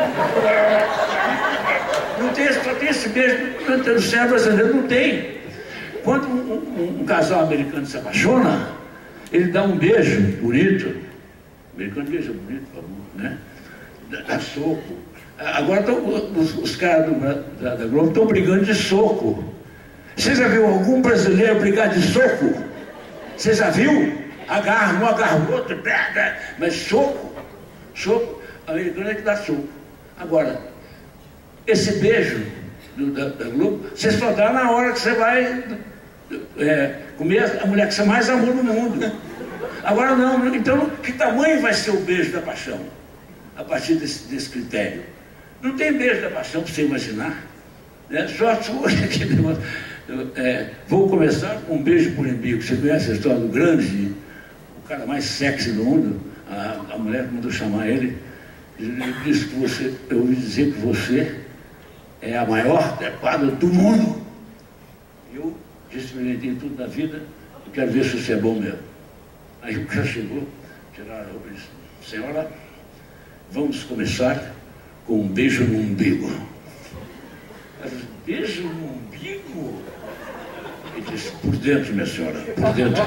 Não tem, só tem esse beijo no cérebro brasileiro, não tem. Quando um casal americano se apaixona, ele dá um beijo bonito. O americano beija bonito, por favor, né? Dá soco. Agora os caras da Globo estão brigando de soco. Você já viu algum brasileiro brigar de soco? Você já viu? Um agarra o outro, mas soco, americano é que dá soco. Agora, esse beijo da Globo, você só dá na hora que você vai comer a mulher que você mais amou no mundo. Agora não, então que tamanho vai ser o beijo da paixão? A partir desse critério. Não tem beijo da paixão para você imaginar. Né? Só aquele negócio. Vou começar com um beijo por umbigo. Você conhece a história do grande, o cara mais sexy do mundo? A mulher mandou chamar ele. Ele disse que eu ouvi dizer que você é a maior trepada do mundo. Eu experimentei tudo na vida, eu quero ver se você é bom mesmo. Aí o cara chegou, tiraram a roupa e disse: senhora, vamos começar com um beijo no umbigo. Eu disse: beijo no umbigo? Ele disse: por dentro, minha senhora, por dentro.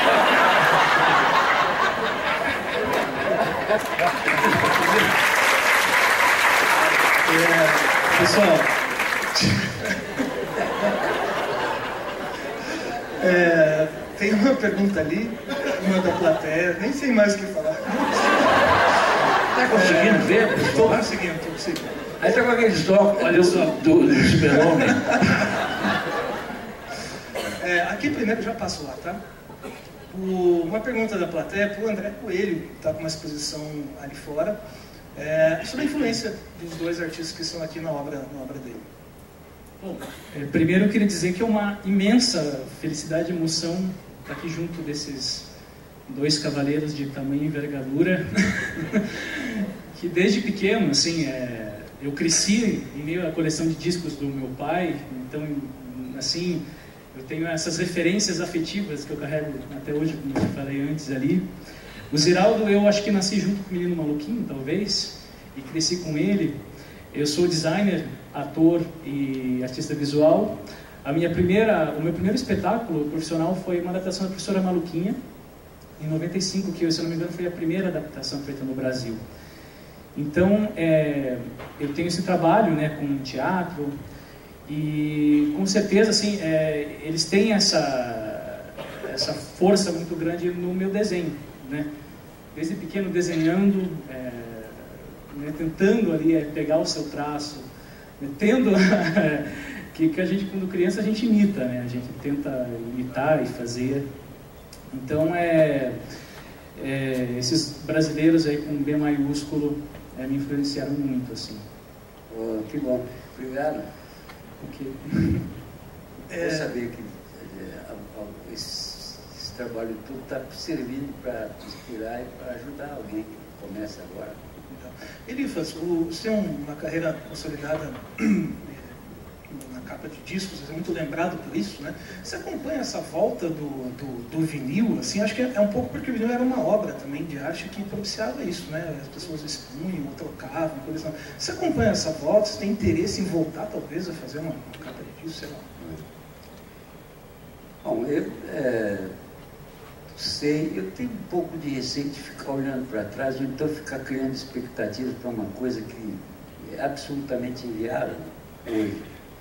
Pessoal, tem uma pergunta ali, uma da plateia, nem sei mais o que falar. Está conseguindo ver? Estou conseguindo. Aí está com aqueles óculos ali do super-homem. Aqui primeiro já passou lá, tá? Uma pergunta da plateia para o André Coelho, que está com uma exposição ali fora, sobre a influência dos dois artistas que estão aqui na obra dele. Bom, primeiro eu queria dizer que é uma imensa felicidade e emoção estar aqui junto desses dois cavaleiros de tamanho e envergadura, que desde pequeno, assim, eu cresci em meio à coleção de discos do meu pai, então, assim, eu tenho essas referências afetivas que eu carrego até hoje, como eu falei antes ali. O Ziraldo, eu acho que nasci junto com o Menino Maluquinho, talvez, e cresci com ele. Eu sou designer, ator e artista visual. O meu primeiro espetáculo profissional foi uma adaptação da Professora Maluquinha, em 95, que, se eu não me engano, foi a primeira adaptação feita no Brasil. Então, eu tenho esse trabalho, né, com teatro, e com certeza, assim, eles têm essa força muito grande no meu desenho, né? Desde pequeno desenhando, né, tentando ali pegar o seu traço, né, tendo que a gente, quando criança, a gente imita, né? A gente tenta imitar e fazer. Então, esses brasileiros aí com B maiúsculo me influenciaram muito, assim. Que bom. Obrigado. Okay. Vou saber que esse trabalho todo está servindo para inspirar e para ajudar alguém que começa agora. Elifas, você tem uma carreira consolidada na capa de discos, você é muito lembrado por isso, né? Você acompanha essa volta do vinil, assim, acho que é um pouco porque o vinil era uma obra também de arte que propiciava isso, né? As pessoas expunham, trocavam, colecionavam. Você acompanha essa volta, você tem interesse em voltar, talvez, a fazer uma capa de disco, sei lá? Bom, eu tenho um pouco de receio de ficar olhando para trás, ou então ficar criando expectativas para uma coisa que é absolutamente inviável hoje.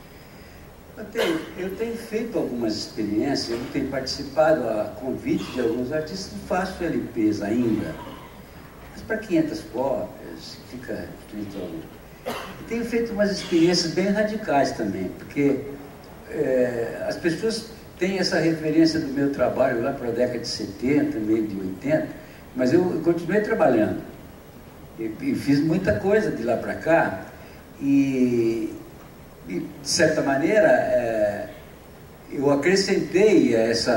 Eu tenho feito algumas experiências, eu tenho participado a convite de alguns artistas, não faço LPs ainda, mas para 500 cópias, fica escrito ali. E tenho feito umas experiências bem radicais também, porque as pessoas têm essa referência do meu trabalho lá para a década de 70, meio de 80, mas eu continuei trabalhando e fiz muita coisa de lá para cá e de certa maneira, eu acrescentei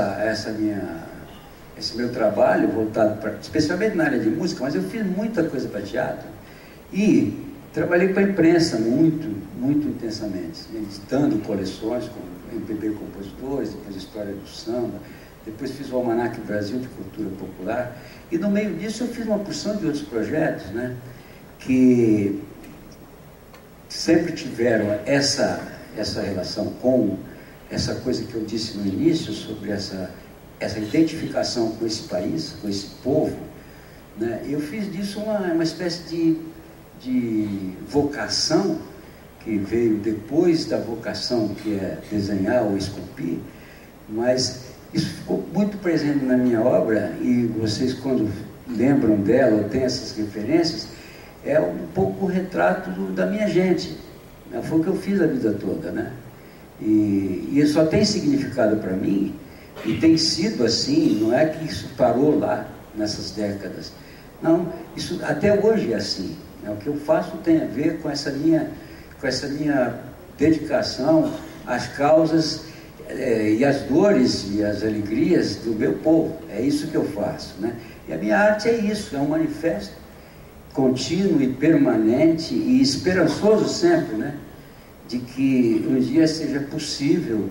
esse meu trabalho voltado especialmente na área de música, mas eu fiz muita coisa para teatro e trabalhei para a imprensa muito intensamente, editando coleções com MPB compositores, depois História do Samba, depois fiz o Almanac Brasil de Cultura Popular e no meio disso eu fiz uma porção de outros projetos, né, que sempre tiveram essa relação com essa coisa que eu disse no início sobre essa identificação com esse país, com esse povo, né? Eu fiz disso uma espécie de vocação que veio depois da vocação que é desenhar ou esculpir, mas isso ficou muito presente na minha obra e vocês quando lembram dela ou têm essas referências, é um pouco o retrato da minha gente. Foi o que eu fiz a vida toda, né? E só tem significado para mim, e tem sido assim, não é que isso parou lá, nessas décadas. Não, isso até hoje é assim. O que eu faço tem a ver com essa minha dedicação às causas e às dores e às alegrias do meu povo. É isso que eu faço, né? E a minha arte é isso, é um manifesto contínuo e permanente e esperançoso sempre, né? De que um dia seja possível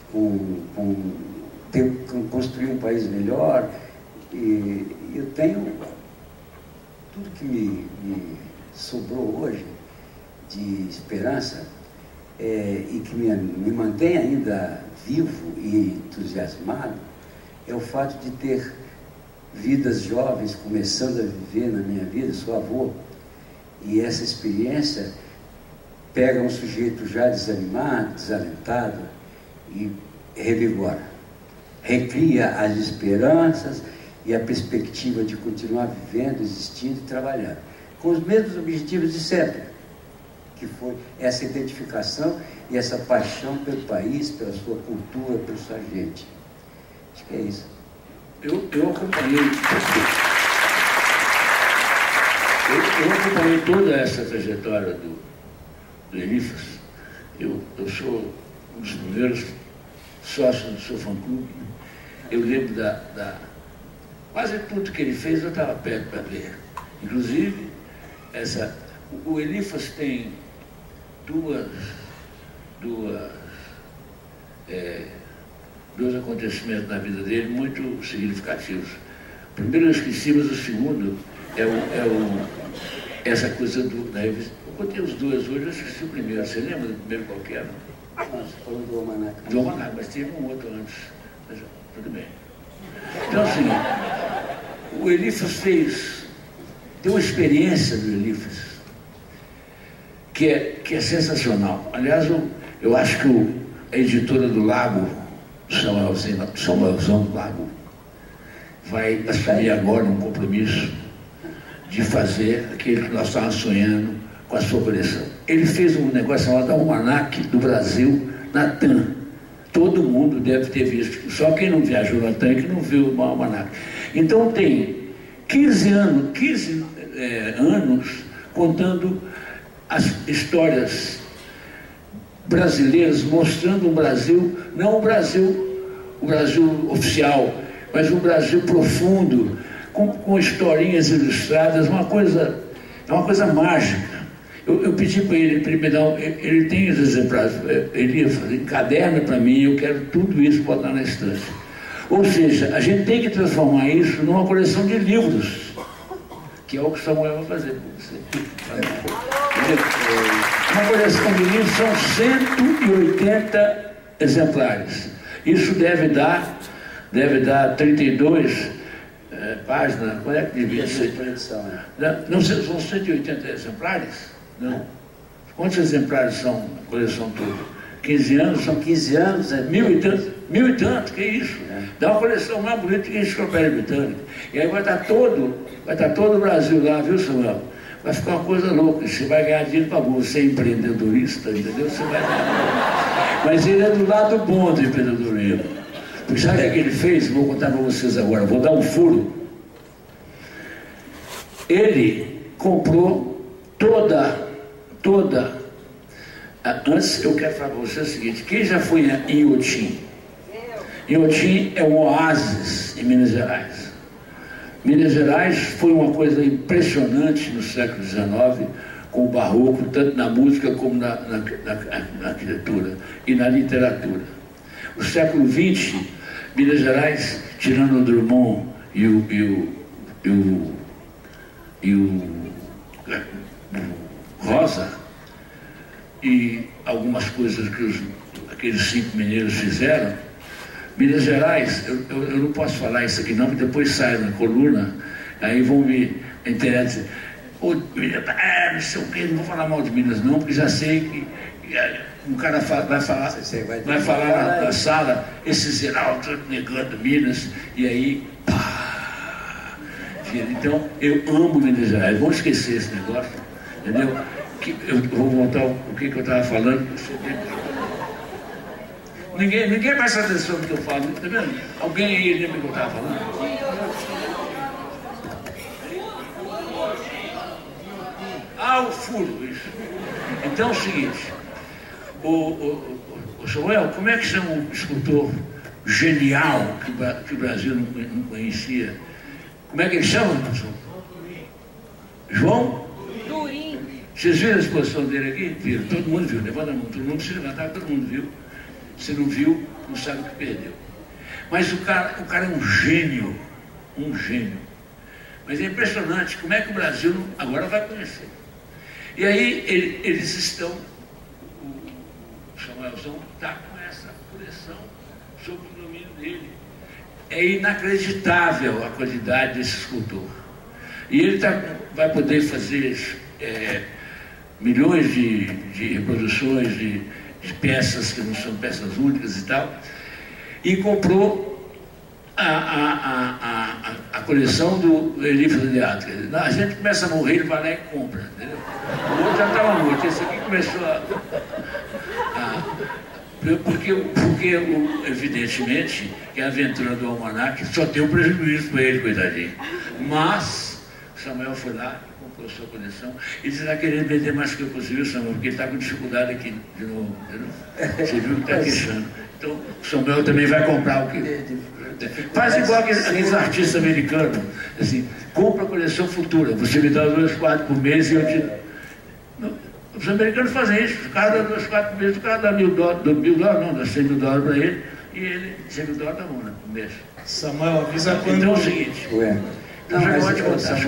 construir um país melhor. E eu tenho tudo que me sobrou hoje de esperança e que me mantém ainda vivo e entusiasmado é o fato de ter vidas jovens começando a viver na minha vida. Sou avô, e essa experiência pega um sujeito já desanimado, desalentado e revigora, recria as esperanças e a perspectiva de continuar vivendo, existindo e trabalhando com os mesmos objetivos de sempre, que foi essa identificação e essa paixão pelo país, pela sua cultura, pela sua gente. Acho que é isso. Eu acompanhei toda essa trajetória do Elifas. Eu sou um dos primeiros sócios do seu fã-clube. Eu lembro quase tudo que ele fez, eu estava perto para ver. Inclusive, o Elifas tem dois acontecimentos na vida dele muito significativos. O primeiro eu esqueci, mas o segundo essa coisa da revista. Eu contei os dois hoje, eu esqueci o primeiro. Você lembra do primeiro qual que era? Você falou do Almanac. Do Almanac, mas teve um outro antes. Mas, tudo bem. Então, assim, o Elifas tem uma experiência do Elifas que é sensacional. Aliás, eu acho que a editora do Lago, Samuelzão do Lago, vai assumir agora um compromisso de fazer aquilo que nós estávamos sonhando com a sua coleção. Ele fez um negócio chamado Almanac do Brasil na TAM. Todo mundo deve ter visto, só quem não viajou na TAM que não viu o Almanac. Então tem 15 anos contando as histórias brasileiras, mostrando um Brasil, não o Brasil oficial, mas um Brasil profundo, com historinhas ilustradas, é uma coisa mágica. Eu pedi para ele me dar, ele tem os exemplares, ele ia fazer, encaderna para mim, eu quero tudo isso botar na estante. Ou seja, a gente tem que transformar isso numa coleção de livros, que é o que Samuel vai fazer por você. Uma coleção de livros são 180 exemplares. Isso deve dar 32 páginas. Qual é que devia ser? Não, são 180 exemplares? Não. Quantos exemplares são a coleção toda? 15 anos? São 15 anos, é 1.000 e tanto, que isso? Dá uma coleção mais bonita que a Enciclopédia Britânica. E aí vai estar todo o Brasil lá, viu, Samuel? Vai ficar uma coisa louca. Você vai ganhar dinheiro para você é empreendedorista, entendeu? Você vai ganhar. Mas ele é do lado bom do empreendedorismo. Porque sabe o que ele fez? Vou contar para vocês agora, vou dar um furo. Ele comprou toda. Antes, eu quero falar para vocês o seguinte: quem já foi em Inhotim? Inhotim é um oásis em Minas Gerais. Minas Gerais foi uma coisa impressionante no século XIX, com o barroco, tanto na música como na arquitetura e na literatura. No século XX, Minas Gerais, tirando o Drummond e o Rosa, e algumas coisas que aqueles 5 mineiros fizeram, Minas Gerais, eu não posso falar isso aqui não, porque depois sai na coluna, aí vão me interessar. Não sei o que, não vou falar mal de Minas não, porque já sei que um cara vai falar na sala, esse Zeraldo negando Minas, e aí, pá! Então, eu amo Minas Gerais, vamos esquecer esse negócio, entendeu? Eu vou voltar o que eu estava falando. Ninguém presta atenção no que eu falo, tá vendo? Alguém aí lembra o que eu estava falando? O furo, isso. Então é o seguinte, Samuel, como é que chama um escultor genial que o Brasil não conhecia? Como é que ele chama, professor? João? Turim. Vocês viram a exposição dele aqui? Viram? Todo mundo viu. Levanta a mão. Todo mundo se levantava, todo mundo viu. Se não viu, não sabe o que perdeu. Mas o cara é um gênio. Um gênio. Mas é impressionante como é que o Brasil agora vai conhecer. E aí eles estão, o Samuelzão está com essa coleção sob o domínio dele. É inacreditável a qualidade desse escultor. E ele vai poder fazer milhões de reproduções de peças que não são peças únicas e tal. E comprou a coleção do Elífas de Arte. A gente começa a morrer, ele vai lá e compra, entendeu? O outro já estava morto, esse aqui começou porque evidentemente, que a aventura do Almanac só tem um prejuízo para ele, coitadinho. Mas Samuel foi lá e comprou sua coleção. Ele está querendo vender mais do que possível, Samuel, porque ele está com dificuldade aqui de novo, entendeu? Você viu que está queixando. Então, o Samuel também vai comprar o quê? Faz igual aqueles artistas americanos, assim, compra a coleção futura, você me dá 2 quadros por mês e eu te... Os americanos fazem isso, o cara dá 2 quadros por mês, o cara dá $1.000, não, dá $100 mil para ele, e ele, $100 mil dá por mês. Samuel, avisa quando... Então é o seguinte, então já vou te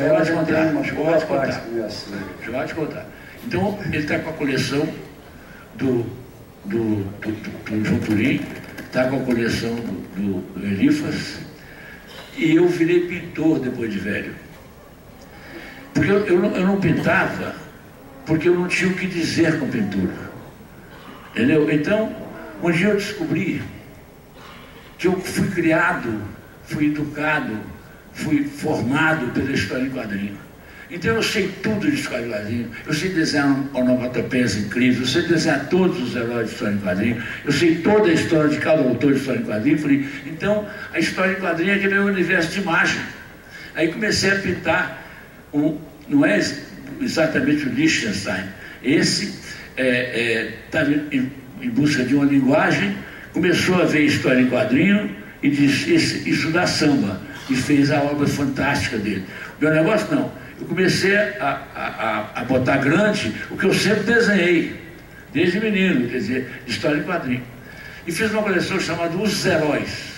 contar. Então, ele está com a coleção do João Turim, está com a coleção do Elífas, e eu virei pintor depois de velho. Porque eu não pintava, porque eu não tinha o que dizer com pintura. Entendeu? Então, um dia eu descobri que eu fui criado, fui educado, fui formado pela história em quadrinho. Então eu sei tudo de história em quadrinho, eu sei desenhar onomatopeias incríveis, eu sei desenhar todos os heróis de história em quadrinho, eu sei toda a história de cada autor de história em quadrinho. Falei, então a história em quadrinho é aquele universo de imagem. Aí comecei a pintar, não é exatamente o Liechtenstein, esse estava em busca de uma linguagem, começou a ver história em quadrinho e disse, isso dá samba, e fez a obra fantástica dele. O meu negócio não. Eu comecei a botar grande o que eu sempre desenhei, desde menino, quer dizer, história em quadrinho. E fiz uma coleção chamada Os Heróis,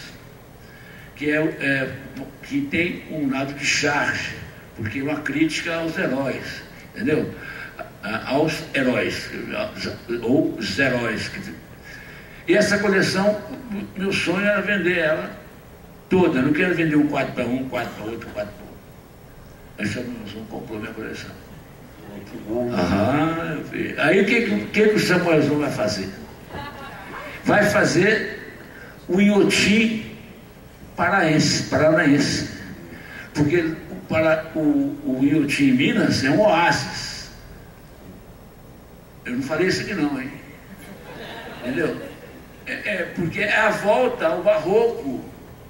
que tem um lado de charge, porque é uma crítica aos heróis, entendeu? Aos heróis, ou os heróis. E essa coleção, meu sonho era vender ela toda. Eu não quero vender um quadro para um quadro para outro, quadro para outro. Aí Samuelzão comprou minha coleção. Que bom. Aí o que o Samuelzão vai fazer? Vai fazer o Inhotim paranaense. Porque o Inhotim em Minas é um oásis. Eu não falei isso aqui não, hein? Entendeu? Porque é a volta ao barroco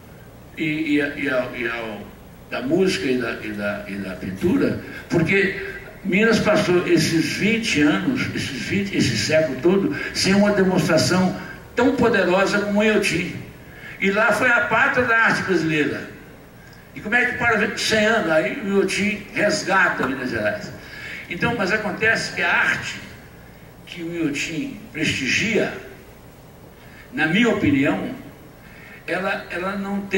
da música e da pintura, porque Minas passou esses 20 anos, esse século todo, sem uma demonstração tão poderosa como o Inhotim. E lá foi a pátria da arte brasileira. E como é que para 100 anos, aí o Inhotim resgata Minas Gerais. Então, mas acontece que a arte que o Inhotim prestigia, na minha opinião, ela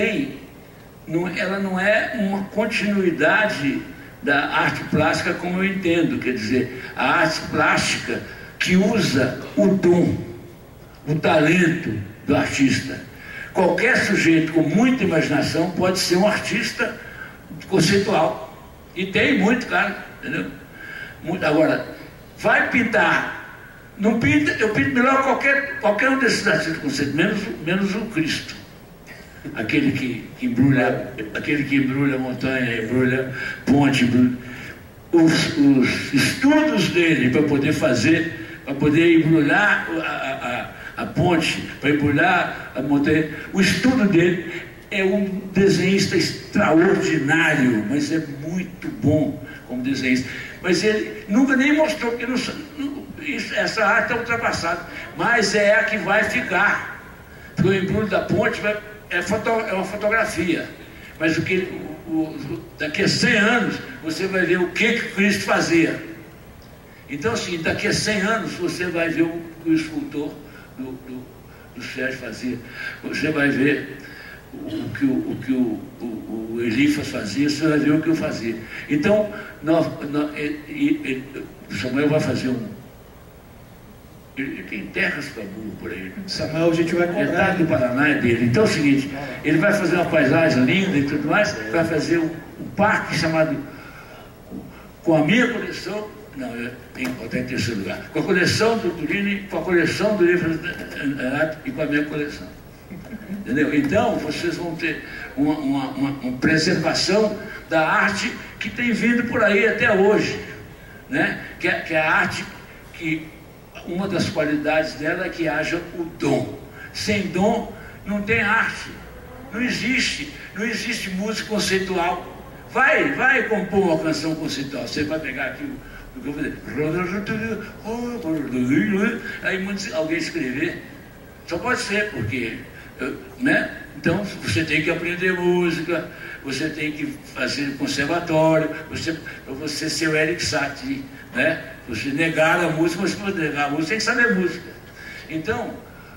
não é uma continuidade da arte plástica como eu entendo, quer dizer, a arte plástica que usa o dom, o talento do artista. Qualquer sujeito com muita imaginação pode ser um artista conceitual. E tem muito, cara, entendeu? Agora, vai pintar, não pinta, eu pinto melhor qualquer um desses artistas conceituais, menos o Cristo. Aquele que embrulha a montanha, embrulha ponte, os estudos dele para poder embrulhar a ponte, para embrulhar a montanha, o estudo dele é um desenhista extraordinário, mas é muito bom como desenhista. Mas ele nunca nem mostrou, porque essa arte é ultrapassada, mas é a que vai ficar. Porque o Embrulho da Ponte é uma fotografia, mas daqui a 100 anos você vai ver o que Cristo fazia. Então, assim, daqui a 100 anos você vai ver o que o escultor do Sérgio fazia, você vai ver o que o Elifas fazia, você vai ver o que eu fazia. Então, o Samuel vai fazer ele tem terras para burro por aí. Samuel, a gente vai cobrar. Metade do Paraná é dele. Então é o seguinte, ele vai fazer uma paisagem linda e tudo mais, vai fazer um parque chamado, com a minha coleção, não, eu tenho que botar em terceiro lugar, com a coleção do Turini, com a coleção do livro e com a minha coleção. Entendeu? Então, vocês vão ter uma preservação da arte que tem vindo por aí até hoje, né? Que é a arte que uma das qualidades dela é que haja o dom. Sem dom não tem arte, não existe música conceitual. Vai compor uma canção conceitual, você vai pegar aqui o que eu vou dizer, aí alguém escrever, só pode ser porque, né? Então você tem que aprender música, você tem que fazer conservatório, você ser o Eric Satie, né? Você negar a música, mas para negar a música tem que saber música. Então,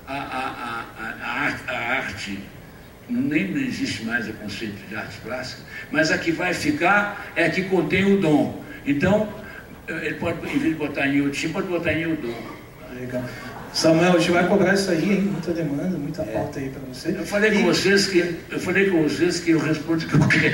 a arte, nem existe mais o conceito de arte plástica, mas a que vai ficar é a que contém o dom. Então, ele pode, em vez de botar em Yotim, pode botar em Yodom. Legal. Samuel, a gente vai cobrar isso aí, hein? Muita demanda, muita pauta aí para você. Eu falei com vocês que eu respondo o que eu quero.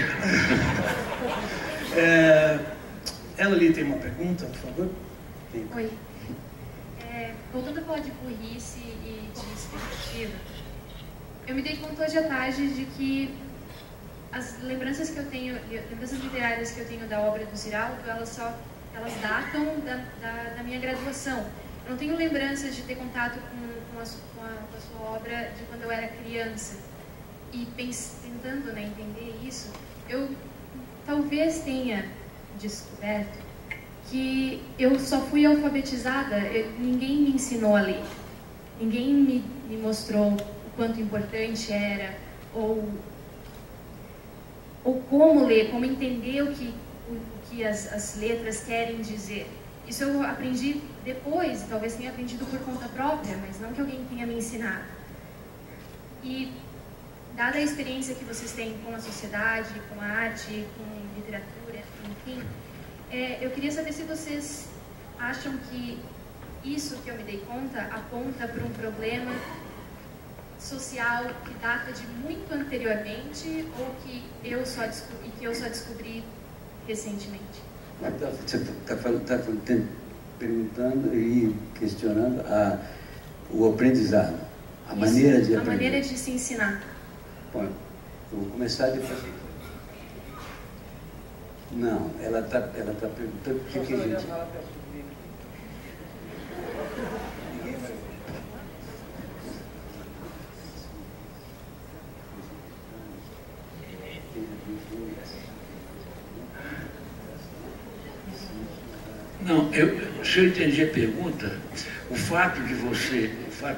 Ela ali tem uma pergunta, por favor. Oi. Voltando a falar de burrice e de expectativa, eu me dei conta hoje à tarde de que as lembranças que eu tenho, lembranças literárias que eu tenho da obra do Ziraldo, elas datam da minha graduação. Eu não tenho lembranças de ter contato com a sua obra de quando eu era criança. E tentando, né, entender isso, eu talvez tenha descoberto que eu só fui alfabetizada, ninguém me ensinou a ler. Ninguém me mostrou o quanto importante era, ou como ler, como entender o que as letras querem dizer. Isso eu aprendi depois, talvez tenha aprendido por conta própria, mas não que alguém tenha me ensinado. E, dada a experiência que vocês têm com a sociedade, com a arte, com literatura, enfim, eu queria saber se vocês acham que isso que eu me dei conta aponta para um problema social que data de muito anteriormente ou que eu só descobri recentemente. Você está perguntando e questionando o aprendizado, a maneira de aprender. A maneira de se ensinar. Bom, eu vou começar depois. Não, ela está perguntando o que a gente... Não, se eu entendi a pergunta, o fato de você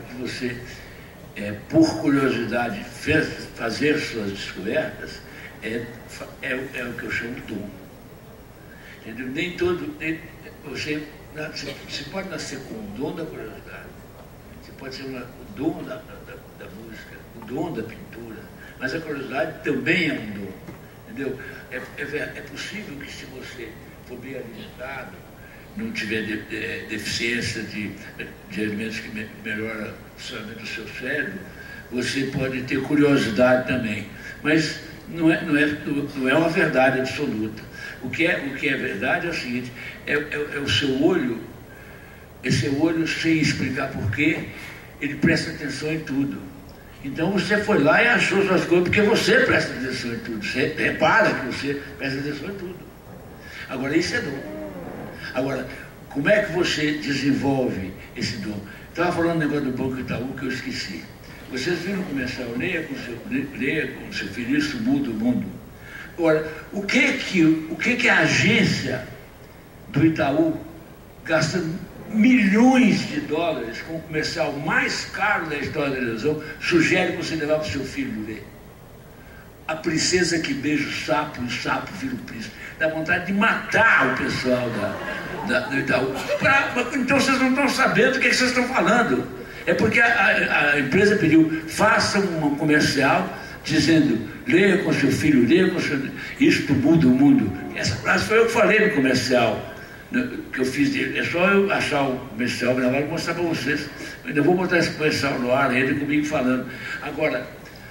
por curiosidade, fazer suas descobertas é o que eu chamo de dom. Entendeu? Nem todo... Você pode nascer com o dom da curiosidade, você pode ser o dom da música, o dom da pintura, mas a curiosidade também é um dom. Entendeu? É possível que, se você for bem alimentado, não tiver deficiência de alimentos que melhoram o funcionamento do seu cérebro, você pode ter curiosidade também. Mas não é uma verdade absoluta. O que é verdade é o seguinte, é o seu olho, esse olho, sem explicar porquê, ele presta atenção em tudo. Então você foi lá e achou suas coisas, porque você presta atenção em tudo. Você repara que você presta atenção em tudo. Agora, isso é dom. Agora, como é que você desenvolve esse dom? Estava falando um negócio do Banco Itaú que eu esqueci. Vocês viram o comercial, leia com seu filho, isso muda o mundo. Agora, o que a agência do Itaú gasta milhões de dólares com o comercial mais caro da história da televisão, sugere que você levar para o seu filho ver? A princesa que beija o sapo e o sapo vira o príncipe. Dá vontade de matar o pessoal do Itaú. Então vocês não estão sabendo o que vocês estão falando. É porque a empresa pediu, faça um comercial dizendo, leia com seu filho, leia com seu... Isto muda o mundo. Essa frase foi eu que falei no comercial que eu fiz dele. É só eu achar o comercial, gravar e mostrar para vocês. Eu ainda vou botar esse comercial no ar, ele comigo falando. Agora,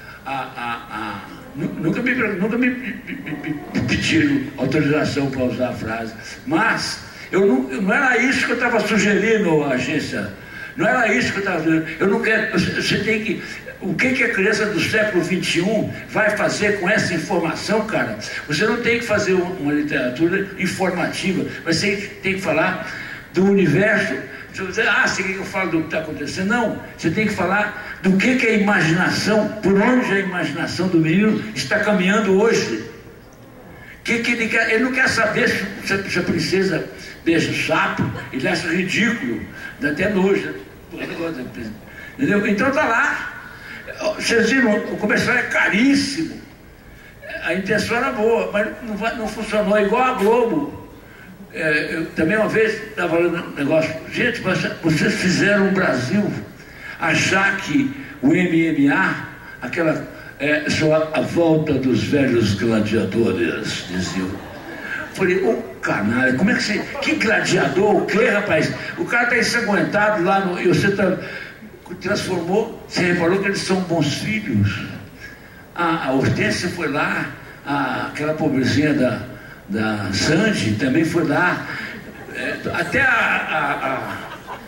nunca me pediram autorização para usar a frase, mas não era isso que eu estava sugerindo à agência. Não era isso que eu estava dizendo. Eu não quero. Você tem que. O que a criança do século XXI vai fazer com essa informação, cara? Você não tem que fazer uma literatura informativa, mas você tem que falar do universo. Você quer que eu falo do que está acontecendo? Não. Você tem que falar do que a imaginação, por onde a imaginação do menino está caminhando hoje. Que ele quer? Ele não quer saber se a princesa beija o sapo, ele acha ridículo, dá até nojo. Entendeu? Então está lá. Vocês viram, o comercial é caríssimo. A intenção era boa, mas não funcionou, igual a Globo. Eu também uma vez estava falando um negócio, gente, vocês fizeram o Brasil achar que o MMA, aquela só a volta dos velhos gladiadores, diziam. Falei, ô canalha, como é que você... Que gladiador, o quê, rapaz? O cara está ensanguentado lá no... E você transformou, você reparou que eles são bons filhos. A Hortência foi lá, aquela pobrezinha da Sandy também foi lá. Até a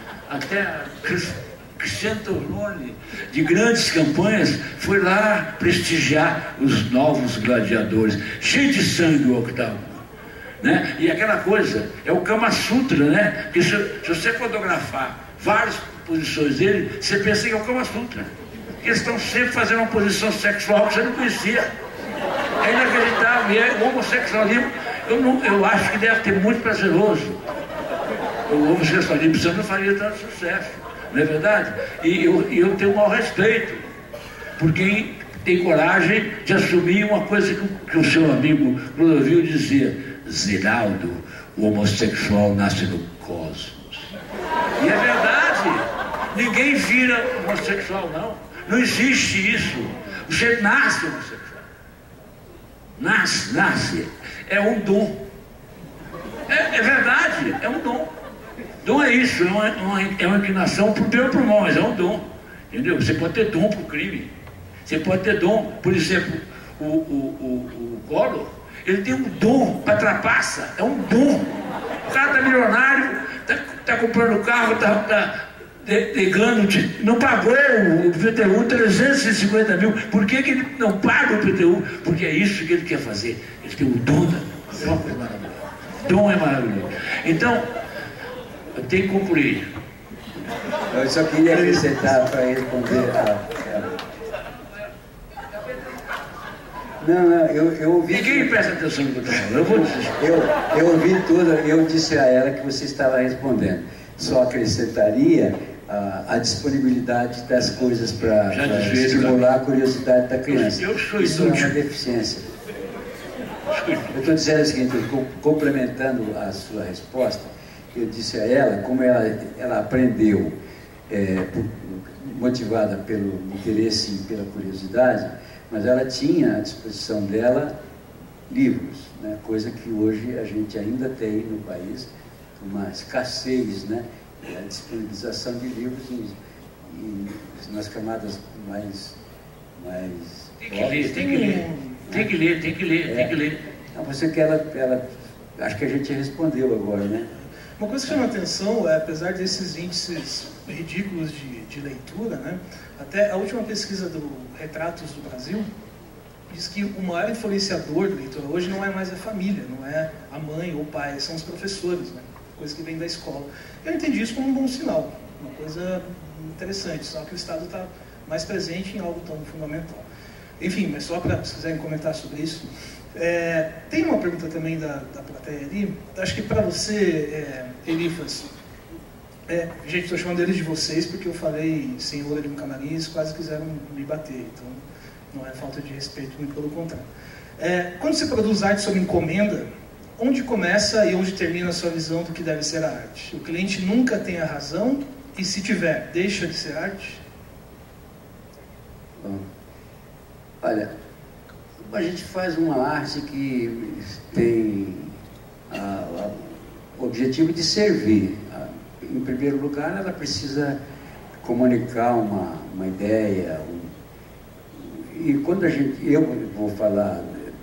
Cristiano Torlone, de grandes campanhas, foi lá prestigiar os novos gladiadores. Cheio de sangue o Octavo. Né? E aquela coisa, é o Kama Sutra, né? Porque se você fotografar várias posições dele, você pensa que é o Kama Sutra. Porque eles estão sempre fazendo uma posição sexual que você não conhecia. É inacreditável, e o homossexualismo, eu acho que deve ter muito prazeroso. O homossexualismo você não faria tanto sucesso, não é verdade? E eu tenho o maior respeito por quem tem coragem de assumir uma coisa que o seu amigo Clodovil dizia: Ziraldo, o homossexual nasce no cosmos. E é verdade, ninguém vira homossexual, não. Não existe isso. Você nasce homossexual. Nasce. É um dom. É verdade, é um dom. Dom é isso, é uma inclinação para o bem ou para o mal, mas é um dom. Entendeu? Você pode ter dom para o crime. Você pode ter dom, por exemplo, o Collor. Ele tem um dom para trapaça, é um dom. O cara está milionário, está comprando carro, está pegando, não pagou o IPTU 350 mil. Por que ele não paga o IPTU? Porque é isso que ele quer fazer. Ele tem o dom da coisa maravilhosa. Dom é maravilhoso. Então, eu tenho que concluir. Eu só queria acrescentar para responder Não, eu ouvi... Ninguém presta atenção no que eu estou falando, eu vou dizer. Eu ouvi tudo, eu disse a ela que você estava respondendo. Só acrescentaria a disponibilidade das coisas para estimular a curiosidade da criança. Isso é uma deficiência. Eu estou dizendo o seguinte, complementando a sua resposta, eu disse a ela como ela aprendeu, motivada pelo interesse e pela curiosidade, mas ela tinha à disposição dela livros, né? Coisa que hoje a gente ainda tem no país, uma escassez, né? A disponibilização de livros nas camadas mais tem que ler. Não, você que ela acho que a gente respondeu agora, né? Uma coisa que chama a atenção é, apesar desses índices ridículos de leitura, né? Até a última pesquisa do Retratos do Brasil diz que o maior influenciador da leitura hoje não é mais a família, não é a mãe ou o pai, são os professores, né? Coisa que vem da escola. Eu entendi isso como um bom sinal, uma coisa interessante, só que o Estado está mais presente em algo tão fundamental. Enfim, mas só para, se quiserem comentar sobre isso. Tem uma pergunta também da plateia ali, acho que para você, Elifas, gente, estou chamando eles de vocês porque eu falei senhor ali no camarim e eles quase quiseram me bater, então não é falta de respeito, muito pelo contrário. Quando você produz arte sob encomenda, onde começa e onde termina a sua visão do que deve ser a arte? O cliente nunca tem a razão e, se tiver, deixa de ser arte? Bom, olha, a gente faz uma arte que tem o objetivo de servir. Em primeiro lugar, ela precisa comunicar uma ideia. E quando eu vou falar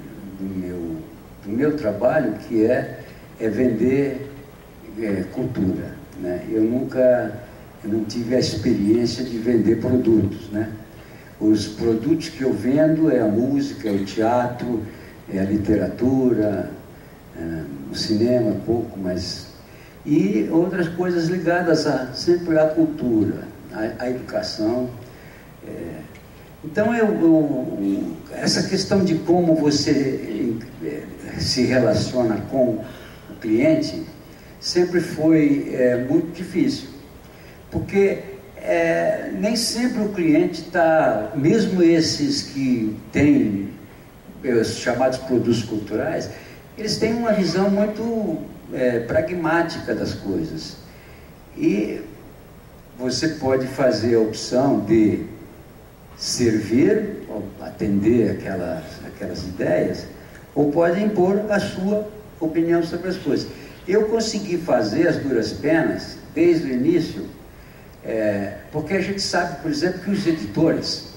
do meu trabalho, que é vender cultura, né? Eu não tive a experiência de vender produtos, né? Os produtos que eu vendo é a música, é o teatro, é a literatura, o cinema, pouco, mas... E outras coisas ligadas sempre à cultura, à educação. Então, essa questão de como você se relaciona com o cliente sempre foi muito difícil, porque nem sempre o cliente está, mesmo esses que têm os chamados produtos culturais, eles têm uma visão muito pragmática das coisas. E você pode fazer a opção de servir, atender aquelas ideias, ou pode impor a sua opinião sobre as coisas. Eu consegui fazer as duras penas desde o início, porque a gente sabe, por exemplo, que os editores,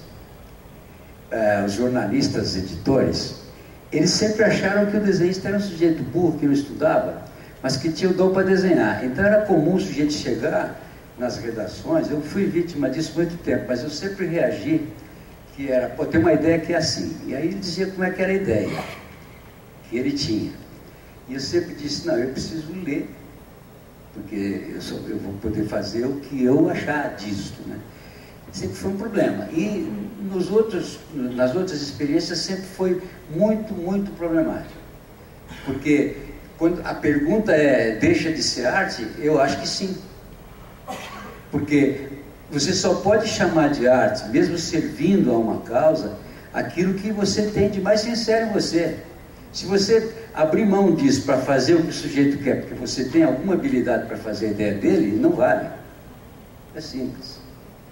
os jornalistas editores, eles sempre acharam que o desenhista era um sujeito burro que não estudava, mas que tinha o dom para desenhar. Então era comum o sujeito chegar nas redações, eu fui vítima disso muito tempo, mas eu sempre reagi, que era, tem uma ideia que é assim, e aí ele dizia como é que era a ideia que ele tinha. E eu sempre disse, não, eu preciso ler, porque eu vou poder fazer o que eu achar disso, né? Sempre foi um problema. E nas outras experiências sempre foi muito, muito problemático. Porque quando a pergunta deixa de ser arte, eu acho que sim. Porque você só pode chamar de arte, mesmo servindo a uma causa, aquilo que você tem de mais sincero em você. Se você abrir mão disso para fazer o que o sujeito quer, porque você tem alguma habilidade para fazer a ideia dele, não vale. É simples.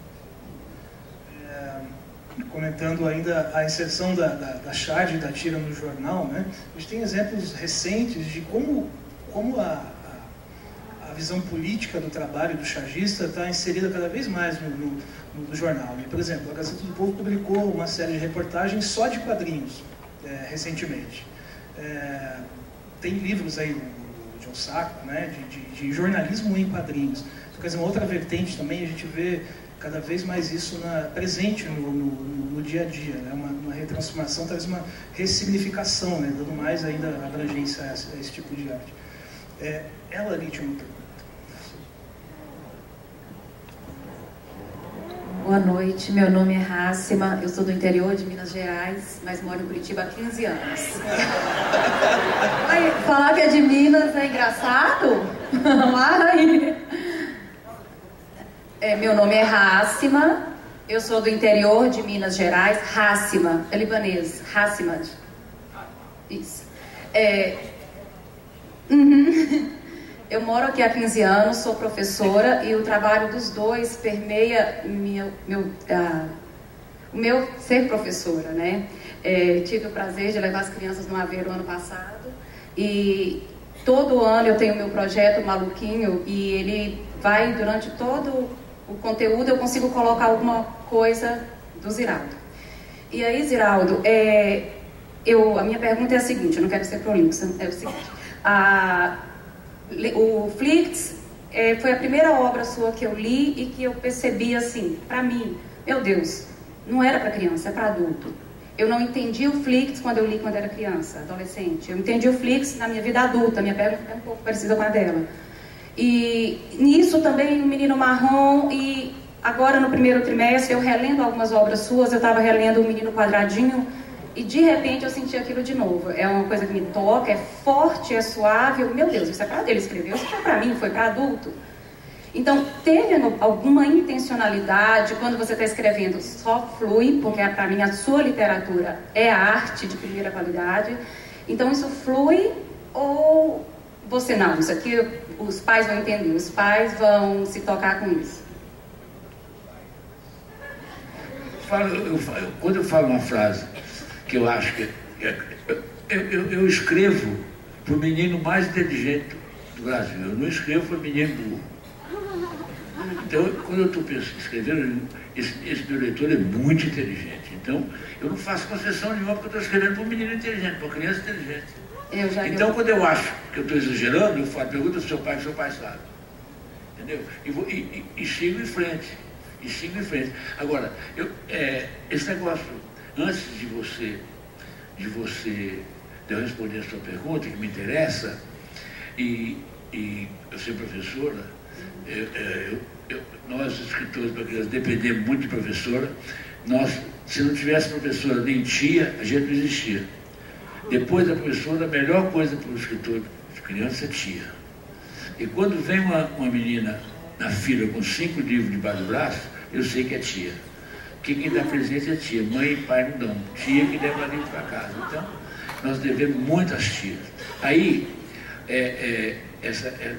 Comentando ainda a inserção da Chad e da tira no jornal, né? A gente tem exemplos recentes de como a visão política do trabalho do chagista está inserida cada vez mais no jornal. E, por exemplo, a Gazeta do Povo publicou uma série de reportagens só de quadrinhos, recentemente. Tem livros aí do John Sacco, né, de jornalismo em quadrinhos. Então, quer dizer, uma outra vertente também, a gente vê cada vez mais isso presente no dia a dia, né? Uma retransformação, talvez uma ressignificação, né? Dando mais ainda abrangência a esse tipo de arte. Ela ali tinha uma pergunta. Boa noite, meu nome é Rácima, eu sou do interior de Minas Gerais, mas moro em Curitiba há 15 anos. Ai, falar que é de Minas é engraçado? Meu nome é Rácima, eu sou do interior de Minas Gerais. Rácima, é libanês, Rácima. Isso. Eu moro aqui há 15 anos, sou professora e o trabalho dos dois permeia o meu ser professora, né? Tive o prazer de levar as crianças no Aveiro ano passado e todo ano eu tenho meu projeto Maluquinho e ele vai durante todo o conteúdo, eu consigo colocar alguma coisa do Ziraldo. E aí, Ziraldo, a minha pergunta é a seguinte, eu não quero ser prolixa, é o seguinte, o Flix foi a primeira obra sua que eu li e que eu percebi assim, para mim, meu Deus, não era para criança, é para adulto. Eu não entendi o Flix quando eu li quando era criança, adolescente. Eu entendi o Flix na minha vida adulta, minha pergunta é um pouco parecida com a dela. E nisso também o Menino Marrom, e Agora, no primeiro trimestre, eu relendo algumas obras suas, eu estava relendo O Menino Quadradinho, e de repente eu senti aquilo de novo. É uma coisa que me toca, é forte, é suave. Meu Deus, isso é para ele escrever, isso foi para mim, foi para adulto. Então, teve alguma intencionalidade quando você está escrevendo? Só flui, porque para mim a sua literatura é arte de primeira qualidade. Então, isso flui ou você não? Isso aqui os pais vão entender, os pais vão se tocar com isso. Quando eu falo uma frase que eu acho que... Eu escrevo para o menino mais inteligente do Brasil. Eu não escrevo para o menino burro. Então, quando eu estou escrevendo, esse meu leitor é muito inteligente. Então, eu não faço concessão nenhuma porque eu estou escrevendo para um menino inteligente, para uma criança inteligente. Então, quando eu acho que eu estou exagerando, eu falo, pergunta ao seu pai, que seu pai sabe. Entendeu? E sigo em frente. E sigo em frente. Agora, esse negócio, antes de eu responder a sua pergunta, que me interessa, e eu ser professora, nós, escritores para crianças, dependemos muito de professora. Se não tivesse professora nem tia, a gente não existia. Depois da professora, a melhor coisa para o escritor de criança é tia. E quando vem uma menina na fila com 5 livros debaixo do braço, eu sei que é tia. Quem dá presente é tia. Mãe e pai não dão. Tia que leva livro para casa. Então, nós devemos muito às tias. Aí, essa é...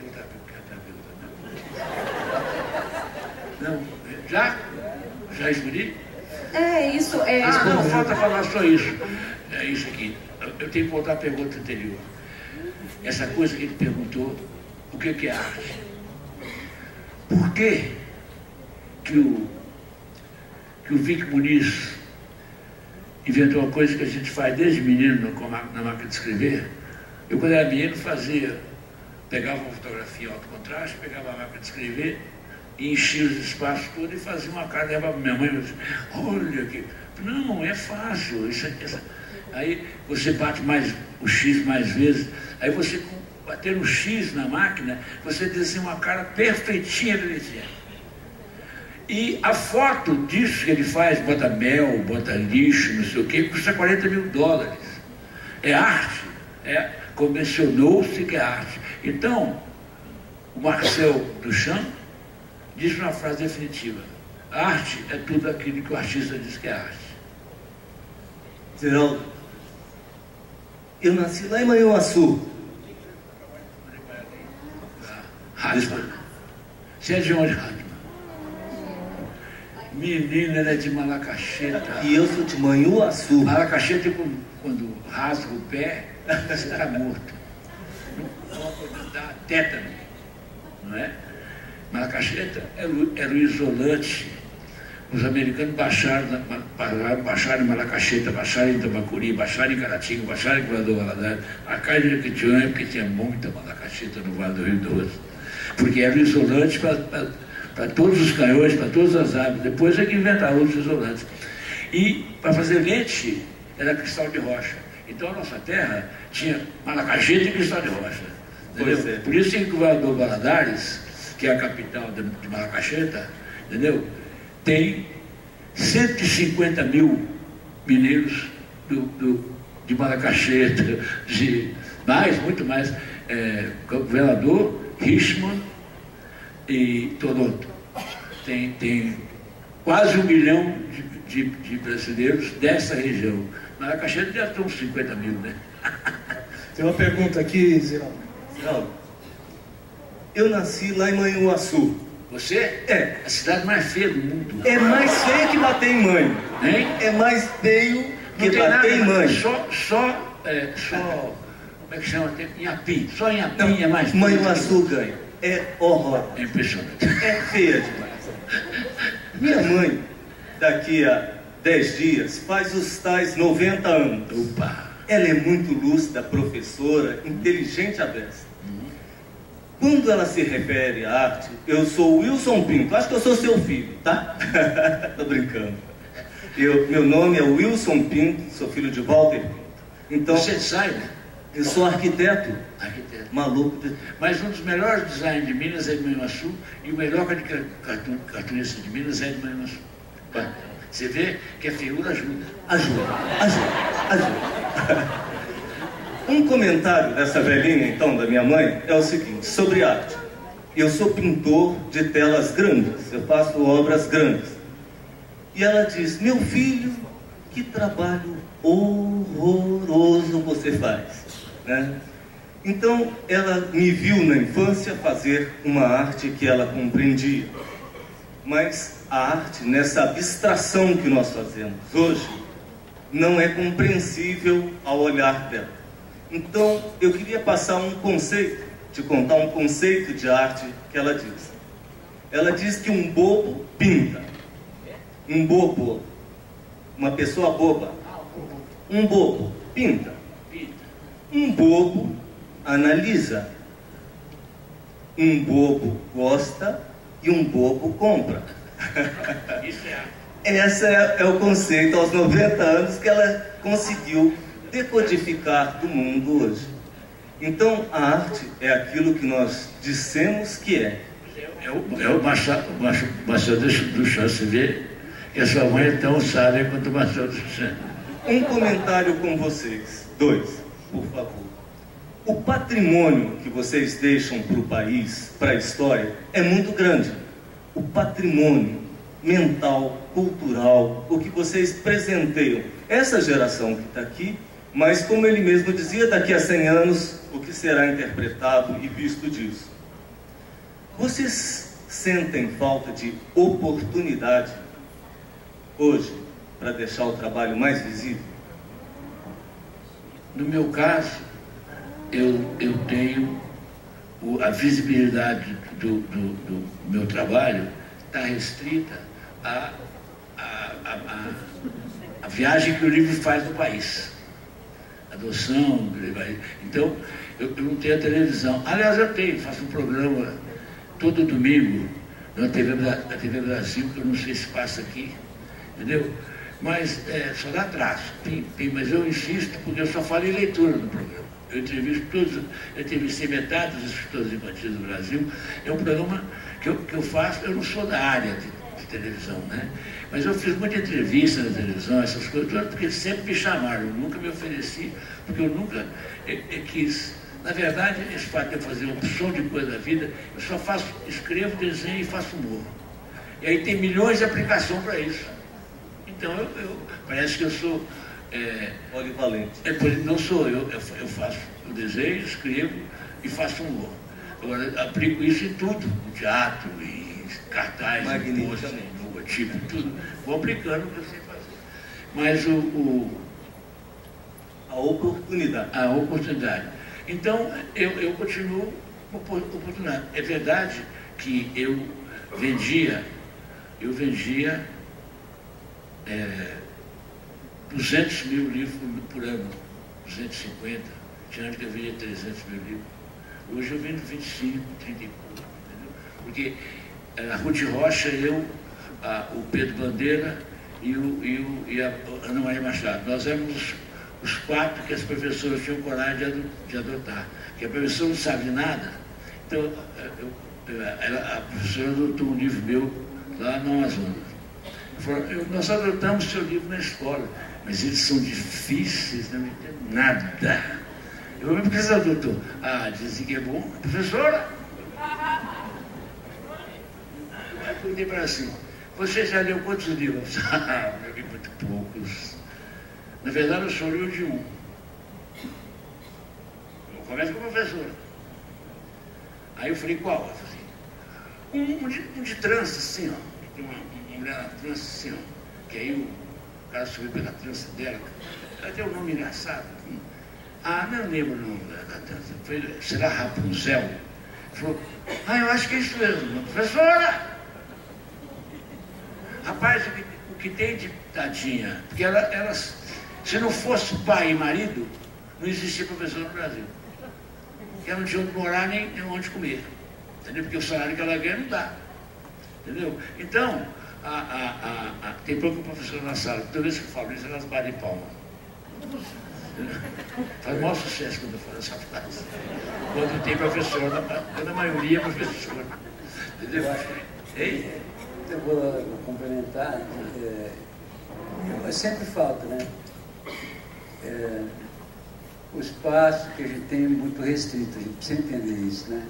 Não, já escolhi? Isso. Não, falta falar só isso. É isso aqui. Eu tenho que voltar à pergunta anterior. Essa coisa que ele perguntou, o que é arte? Por que o Vic Muniz inventou uma coisa que a gente faz desde menino na máquina de escrever? Eu, quando era menino, pegava uma fotografia alto contraste, pegava a máquina de escrever e enchia os espaços todos e fazia uma cara, levava minha mãe e disse, olha aqui. Não, é fácil. Aí você bate o X mais vezes, aí você, batendo o X na máquina, você desenha uma cara perfeitinha, bonitinha. E a foto disso que ele faz, bota mel, bota lixo, não sei o quê, custa $40 mil. É arte. Convencionou-se que é arte. Então, o Marcel Duchamp diz uma frase definitiva: arte é tudo aquilo que o artista diz que é arte. Zeraldo, eu nasci lá em Manhuaçu. Hartmann. Você é de onde, Hartmann? Menina, ela é de Malacaxeta. E eu sou de Manhuaçu. Malacaxeta, quando rasga o pé, você está morto. Dá tétano, não é? Malacaxeta era o isolante. Os americanos baixaram em Malacaxeta, baixaram em Tambacuri, baixaram em Caratinga, baixaram em Governador Valadares, a Caixa de Jequitinhonha, porque tinha muita Malacaxeta no Vale do Rio Doce. Porque era o isolante para todos os canhões, para todas as árvores. Depois é que inventaram outros isolantes. E para fazer lente era cristal de rocha. Então a nossa terra tinha Malacaxeta e cristal de rocha. Entendeu? Por isso que o Governador Valadares, que é a capital de Malacaxeta, entendeu? Tem 150 mil mineiros de Malacaxeta, muito mais, Governador, Richmond e Toronto. Tem quase 1 milhão de brasileiros dessa região. Malacaxeta já estão uns 50 mil, né? Tem uma pergunta aqui, Zeraldo. Eu nasci lá em Manhuaçu. Você? É. A cidade mais feia do mundo. É mais feio que bater em mãe. Hein? É mais feio que bater em mãe. Só, como é que chama? Inhapim. Só Inhapim é mais feio. Manhuaçu ganha. É horror. É impressionante. É feia demais. Minha mãe, daqui a 10 dias, faz os tais 90 anos. Opa! Ela é muito lúcida, professora, inteligente à beça. Quando ela se refere à arte, eu sou Wilson Pinto. Acho que eu sou seu filho, tá? Tô brincando. Meu nome é Wilson Pinto, sou filho de Walter Pinto. Então, você é designer? Eu sou arquiteto. Arquiteto. Maluco. Mas um dos melhores designers de Minas é de Manhuaçu e o melhor cartunista de Minas é de Manhuaçu. Você vê que a feiura ajuda. Ajuda. Um comentário dessa velhinha, então, da minha mãe, é o seguinte, sobre arte. Eu sou pintor de telas grandes, eu faço obras grandes. E ela diz, meu filho, que trabalho horroroso você faz, né? Então, ela me viu na infância fazer uma arte que ela compreendia. Mas a arte, nessa abstração que nós fazemos hoje, não é compreensível ao olhar dela. Então, eu queria passar um conceito, te contar um conceito de arte que ela diz. Ela diz que um bobo pinta. Um bobo, uma pessoa boba. Um bobo pinta. Um bobo analisa. Um bobo gosta e um bobo compra. Isso é. Esse é o conceito aos 90 anos que ela conseguiu decodificar do mundo hoje. Então, a arte é aquilo que nós dissemos que é. É o Machado Duchamp. Você vê que a sua mãe é tão sábia quanto o Machado Duchamp. Um comentário com vocês. 2, por favor. O patrimônio que vocês deixam para o país, para a história, é muito grande. O patrimônio mental, cultural, o que vocês presenteiam. Essa geração que está aqui, mas como ele mesmo dizia, daqui a 100 anos, o que será interpretado e visto disso. Vocês sentem falta de oportunidade hoje para deixar o trabalho mais visível? No meu caso, eu tenho a visibilidade do meu trabalho está restrita à viagem que o livro faz no país. Adoção, então eu não tenho a televisão. Aliás, eu tenho, faço um programa todo domingo na TV Brasil, que eu não sei se passa aqui, entendeu? Mas só dá traço, mas eu insisto porque eu só falo em leitura no programa. Eu entrevisto todos, eu entrevistei metade dos escritores infantis do Brasil. É um programa que eu faço, eu não sou da área de televisão, né? Mas eu fiz muita entrevista na televisão, essas coisas, porque sempre me chamaram, eu nunca me ofereci, porque eu nunca quis. Na verdade, esse fato de eu fazer uma opção de coisa da vida, eu só escrevo, desenho e faço humor. E aí tem milhões de aplicações para isso. Então, parece que eu sou... polivalente. Não sou eu faço, eu desenho, escrevo e faço humor. Agora, aplico isso em tudo, no teatro, em cartaz, em post, em logotipo, tudo. Vou aplicando o que eu sei fazer. Mas a oportunidade. A oportunidade. Então, eu continuo com oportunidade. É verdade que eu vendia 200 mil livros por ano, 250. Tinha antes que eu vendia 300 mil livros. Hoje eu vendo 25, 30 e pouco, entendeu? Porque a Ruth Rocha, o Pedro Bandeira e a Ana Maria Machado, nós éramos os 4 que as professoras tinham coragem de adotar. Porque a professora não sabe de nada, então a professora adotou um livro meu lá no Amazonas. Falou, nós adotamos seu livro na escola, mas eles são difíceis, não entendo nada. Eu lembro que você adotou. Dizem que é bom. Professora? Aí eu perguntei para ela assim, você já leu quantos livros? Eu li muito poucos. Na verdade, eu só li o de um. Eu começo com a professora. Aí eu falei, qual? Eu falei, um de trança, assim, ó. Tem uma mulher na trança, assim, ó. Que aí o cara subiu pela trança dela. Ela tem um nome engraçado. Não lembro o nome da trança. Eu falei, será Rapunzel? Ela falou, eu acho que é isso mesmo. Professora! Rapaz, o que tem de tadinha, porque ela, se não fosse pai e marido, não existia professor no Brasil. Porque ela não tinha onde morar nem onde comer. Entendeu? Porque o salário que ela ganha não dá. Entendeu? Então, tem pouco professor na sala. Toda vez que eu falo isso, elas batem palma. Faz o maior sucesso quando eu falo essa frase. Quando tem professor, quando a maioria é professor. Entendeu? Eu vou complementar. Sempre falta, né? O espaço que a gente tem é muito restrito, a gente precisa entender isso, né?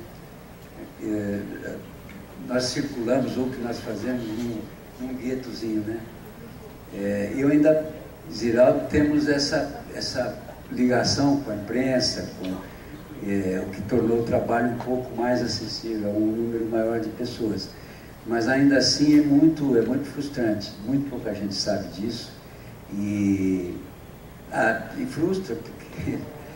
Nós circulamos, ou o que nós fazemos, num guetozinho, né? Eu ainda, Ziraldo, temos essa ligação com a imprensa, com o que tornou o trabalho um pouco mais acessível a um número maior de pessoas. Mas ainda assim é muito frustrante, muito pouca gente sabe disso e frustra, porque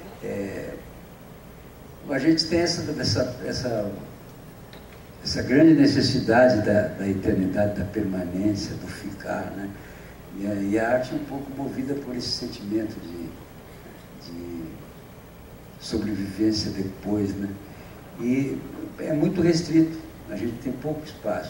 a gente tem essa grande necessidade da eternidade, da permanência, do ficar, né? E a arte é um pouco movida por esse sentimento de sobrevivência depois, né? E é muito restrito, a gente tem pouco espaço.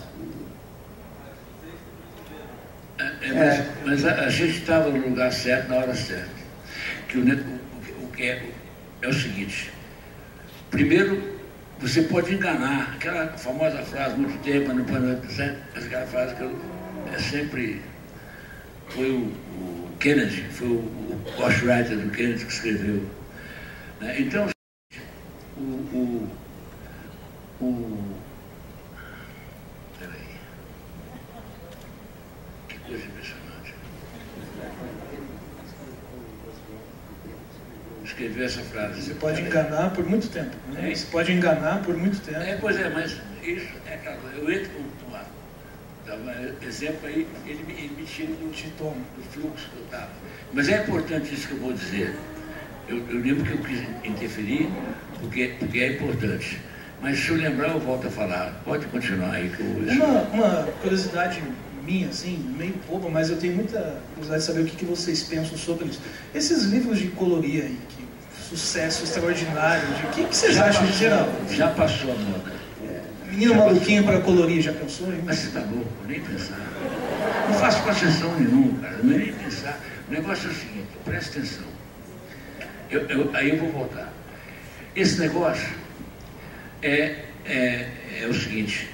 Mas a gente estava no lugar certo, na hora certa. O que é o seguinte: primeiro, você pode enganar, aquela famosa frase, muito tempo, não pode, aquela frase que sempre foi o Kennedy, foi o ghostwriter do Kennedy que escreveu. Né? Então, peraí, que coisa impressionante. Escreveu essa frase. Você pode enganar por muito tempo. Né? Você pode enganar por muito tempo. Pois é, mas isso é aquela coisa. Eu entro com exemplo aí, ele me tira do fluxo que eu estava. Mas é importante isso que eu vou dizer. Eu lembro que eu quis interferir, porque é importante. Mas se eu lembrar, eu volto a falar. Pode continuar aí. Uma curiosidade minha, assim, meio boba, mas eu tenho muita curiosidade de saber o que vocês pensam sobre isso. Esses livros de colorir aí, que sucesso extraordinário, o que vocês acham em geral? Já passou a moda. Menino já maluquinho para colorir, já pensou? Mas você tá louco, nem pensar. Não faço concessão nenhuma, cara, nem pensar. O negócio é o seguinte, presta atenção. Aí eu vou voltar. Esse negócio é o seguinte,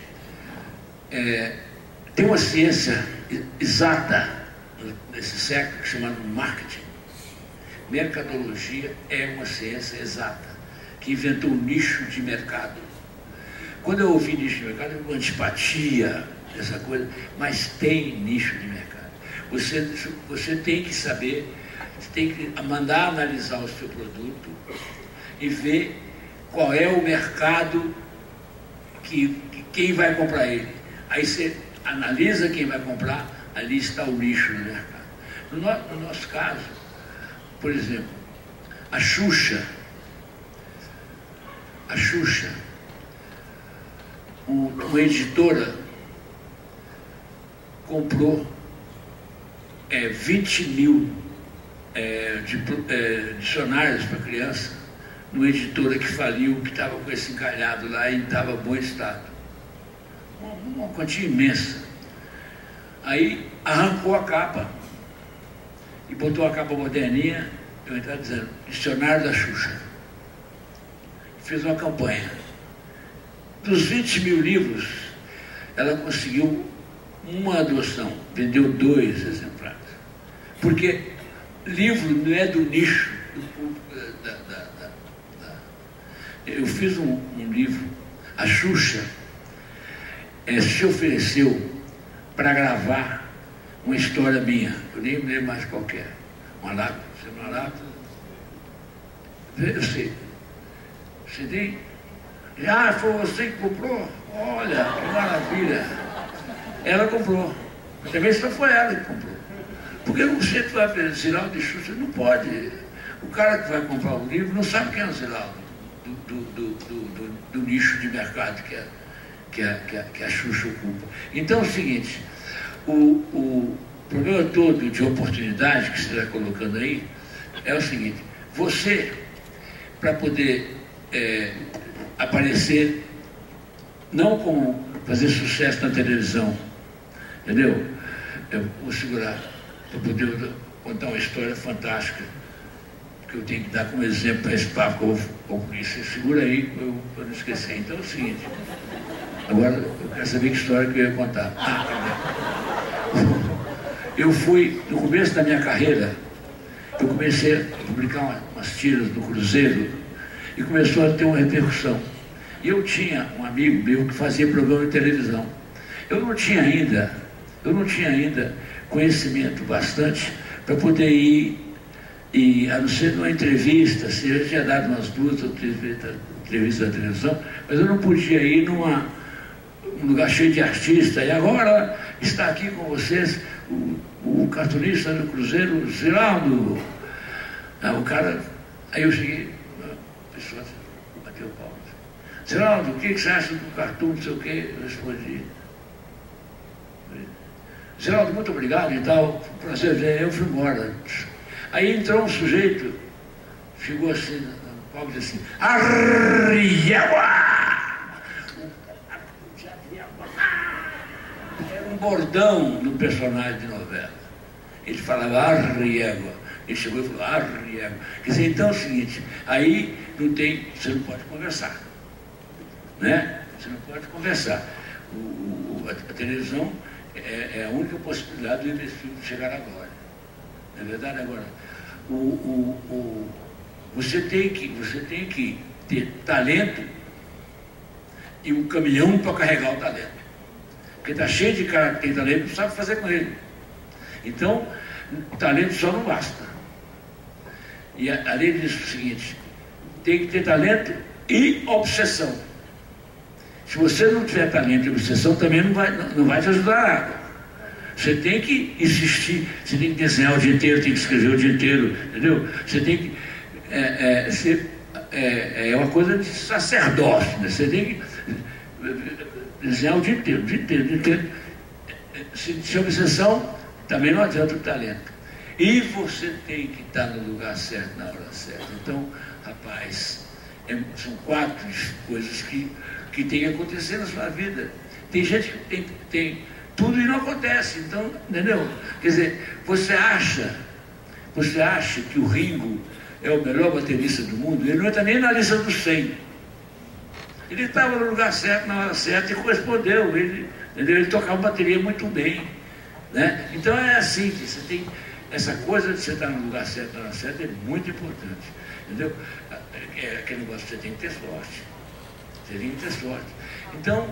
tem uma ciência exata nesse século que se chama marketing. Mercadologia é uma ciência exata que inventou um nicho de mercado. Quando eu ouvi nicho de mercado, eu antipatia, essa coisa, mas tem nicho de mercado. Você tem que saber, você tem que mandar analisar o seu produto e ver qual é o mercado quem vai comprar ele. Aí você analisa quem vai comprar, ali está o nicho do mercado. No nosso caso, por exemplo, a Xuxa, uma editora comprou 20 mil dicionários para criança numa editora que faliu, que estava com esse encalhado lá e estava em bom estado. Uma quantia imensa. Aí arrancou a capa e botou a capa moderninha, eu estava dizendo, Dicionário da Xuxa. Fez uma campanha. Dos 20 mil livros, ela conseguiu uma adoção, vendeu 2 exemplares. Porque livro não é do nicho do público. Eu fiz um livro, a Xuxa se ofereceu para gravar uma história minha, eu nem me lembro mais qual que é. Uma lata, eu sei. Você tem? Foi você que comprou? Olha, que maravilha. Ela comprou. Também só foi ela que comprou. Porque o centro vai ver Ziraldo de Xuxa, não pode. O cara que vai comprar o livro não sabe quem é o Ziraldo do nicho de mercado que a Xuxa ocupa. Então é o seguinte, o problema todo de oportunidade que você está colocando aí é o seguinte, você, para poder aparecer, não como fazer sucesso na televisão, entendeu? Eu vou segurar para poder contar uma história fantástica que eu tenho que dar como exemplo para esse papo que eu vou concluir. Você segura aí para não esquecer. Então é o seguinte, agora eu quero saber que história que eu ia contar. Eu fui, no começo da minha carreira, eu comecei a publicar umas tiras do Cruzeiro e começou a ter uma repercussão. E eu tinha um amigo meu que fazia programa de televisão. Eu não tinha ainda conhecimento bastante para poder ir, e a não ser numa entrevista, assim, eu tinha dado umas 2 ou 3 entrevistas na televisão, mas eu não podia ir num lugar cheio de artistas. E agora está aqui com vocês o cartunista do Cruzeiro, Ziraldo. O cara, aí eu cheguei, a pessoa bateu o pau. Ziraldo, o que você acha do cartoon, não sei o quê? Eu respondi. Ziraldo, muito obrigado e tal, prazer ver, eu fui embora. Aí entrou um sujeito, chegou assim, no palco e disse assim, Arriégua! Era um bordão do personagem de novela. Ele falava Arriégua. Ele chegou e falou Arriégua. Quer dizer, então é o seguinte, aí não tem, você não pode conversar. Né? Você não pode conversar. A televisão é a única possibilidade do filme chegar agora. Não é verdade? Agora, você tem que ter talento e um caminhão para carregar o talento. Porque está cheio de cara que tem talento e não sabe fazer com ele. Então, o talento só não basta. E além disso, é o seguinte, tem que ter talento e obsessão. Se você não tiver talento e obsessão, também não vai te ajudar nada. Você tem que insistir, você tem que desenhar o dia inteiro, tem que escrever o dia inteiro, entendeu? Você tem que... é uma coisa de sacerdócio, né? Você tem que desenhar o dia inteiro, o dia inteiro. Se obsessão, também não adianta o talento. E você tem que estar no lugar certo, na hora certa. Então, rapaz, são 4 coisas que tem que acontecer na sua vida. Tem gente que tem tudo e não acontece, então, entendeu? Quer dizer, você acha que o Ringo é o melhor baterista do mundo? Ele não está nem na lista dos 100. Ele estava no lugar certo, na hora certa e correspondeu. Ele tocava bateria muito bem, né? Então é assim, que você tem essa coisa de você estar no lugar certo, na hora certa, é muito importante, entendeu? É aquele negócio que você tem que ter sorte. Você tem que ter sorte. Então,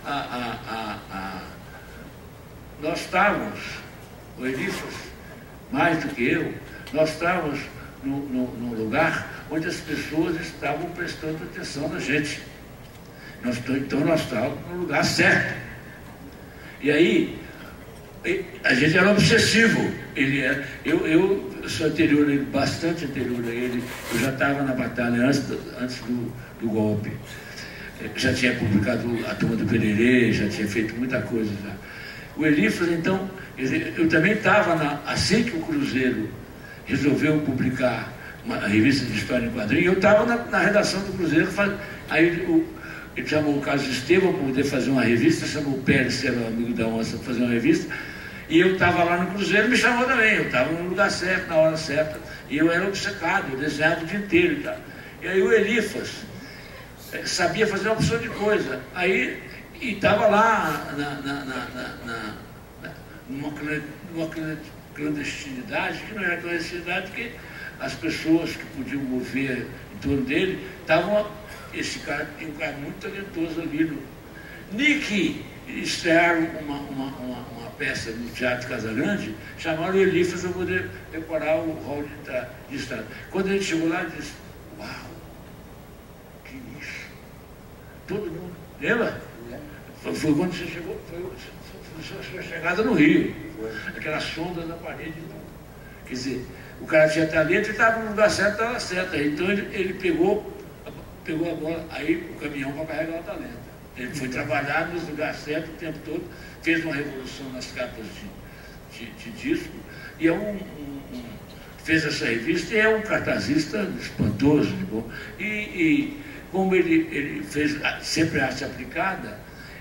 nós estávamos, o Elifas, mais do que eu, nós estávamos num lugar onde as pessoas estavam prestando atenção na gente. Então nós estávamos no lugar certo. E aí, a gente era obsessivo. Eu sou anterior a ele, bastante anterior a ele. Eu já estava na batalha antes do golpe. Já tinha publicado A Turma do Pererê, já tinha feito muita coisa já. O Elifas, então, eu também estava, assim que o Cruzeiro resolveu publicar uma revista de história em quadrinhos, eu estava na redação do Cruzeiro, aí ele chamou o Carlos Estevam para poder fazer uma revista, chamou o Pérez, que era o amigo da Onça, para fazer uma revista, e eu estava lá no Cruzeiro, me chamou também, eu estava no lugar certo, na hora certa, e eu era obcecado, eu desenhava o dia inteiro e tal. E aí o Elifas sabia fazer uma opção de coisa, aí e estava lá numa clandestinidade, que não era clandestinidade, porque as pessoas que podiam mover em torno dele estavam. Esse cara tem um cara muito talentoso ali. Nick estrearam uma peça no Teatro Casagrande, chamaram o Elifas para poder decorar o hall de estrada. Quando a gente chegou lá, ele disse: uau, que isso! Todo mundo, lembra? Foi quando você chegou, foi a sua chegada no Rio, aquela sonda na parede. Quer dizer, o cara tinha talento e estava no lugar certo, na hora certa. Então ele pegou a bola, aí o caminhão para carregar o talento. Ele foi trabalhar nos lugares certos o tempo todo, fez uma revolução nas capas de disco, e fez essa revista, e é um cartazista espantoso, de bom. E como ele fez sempre arte aplicada,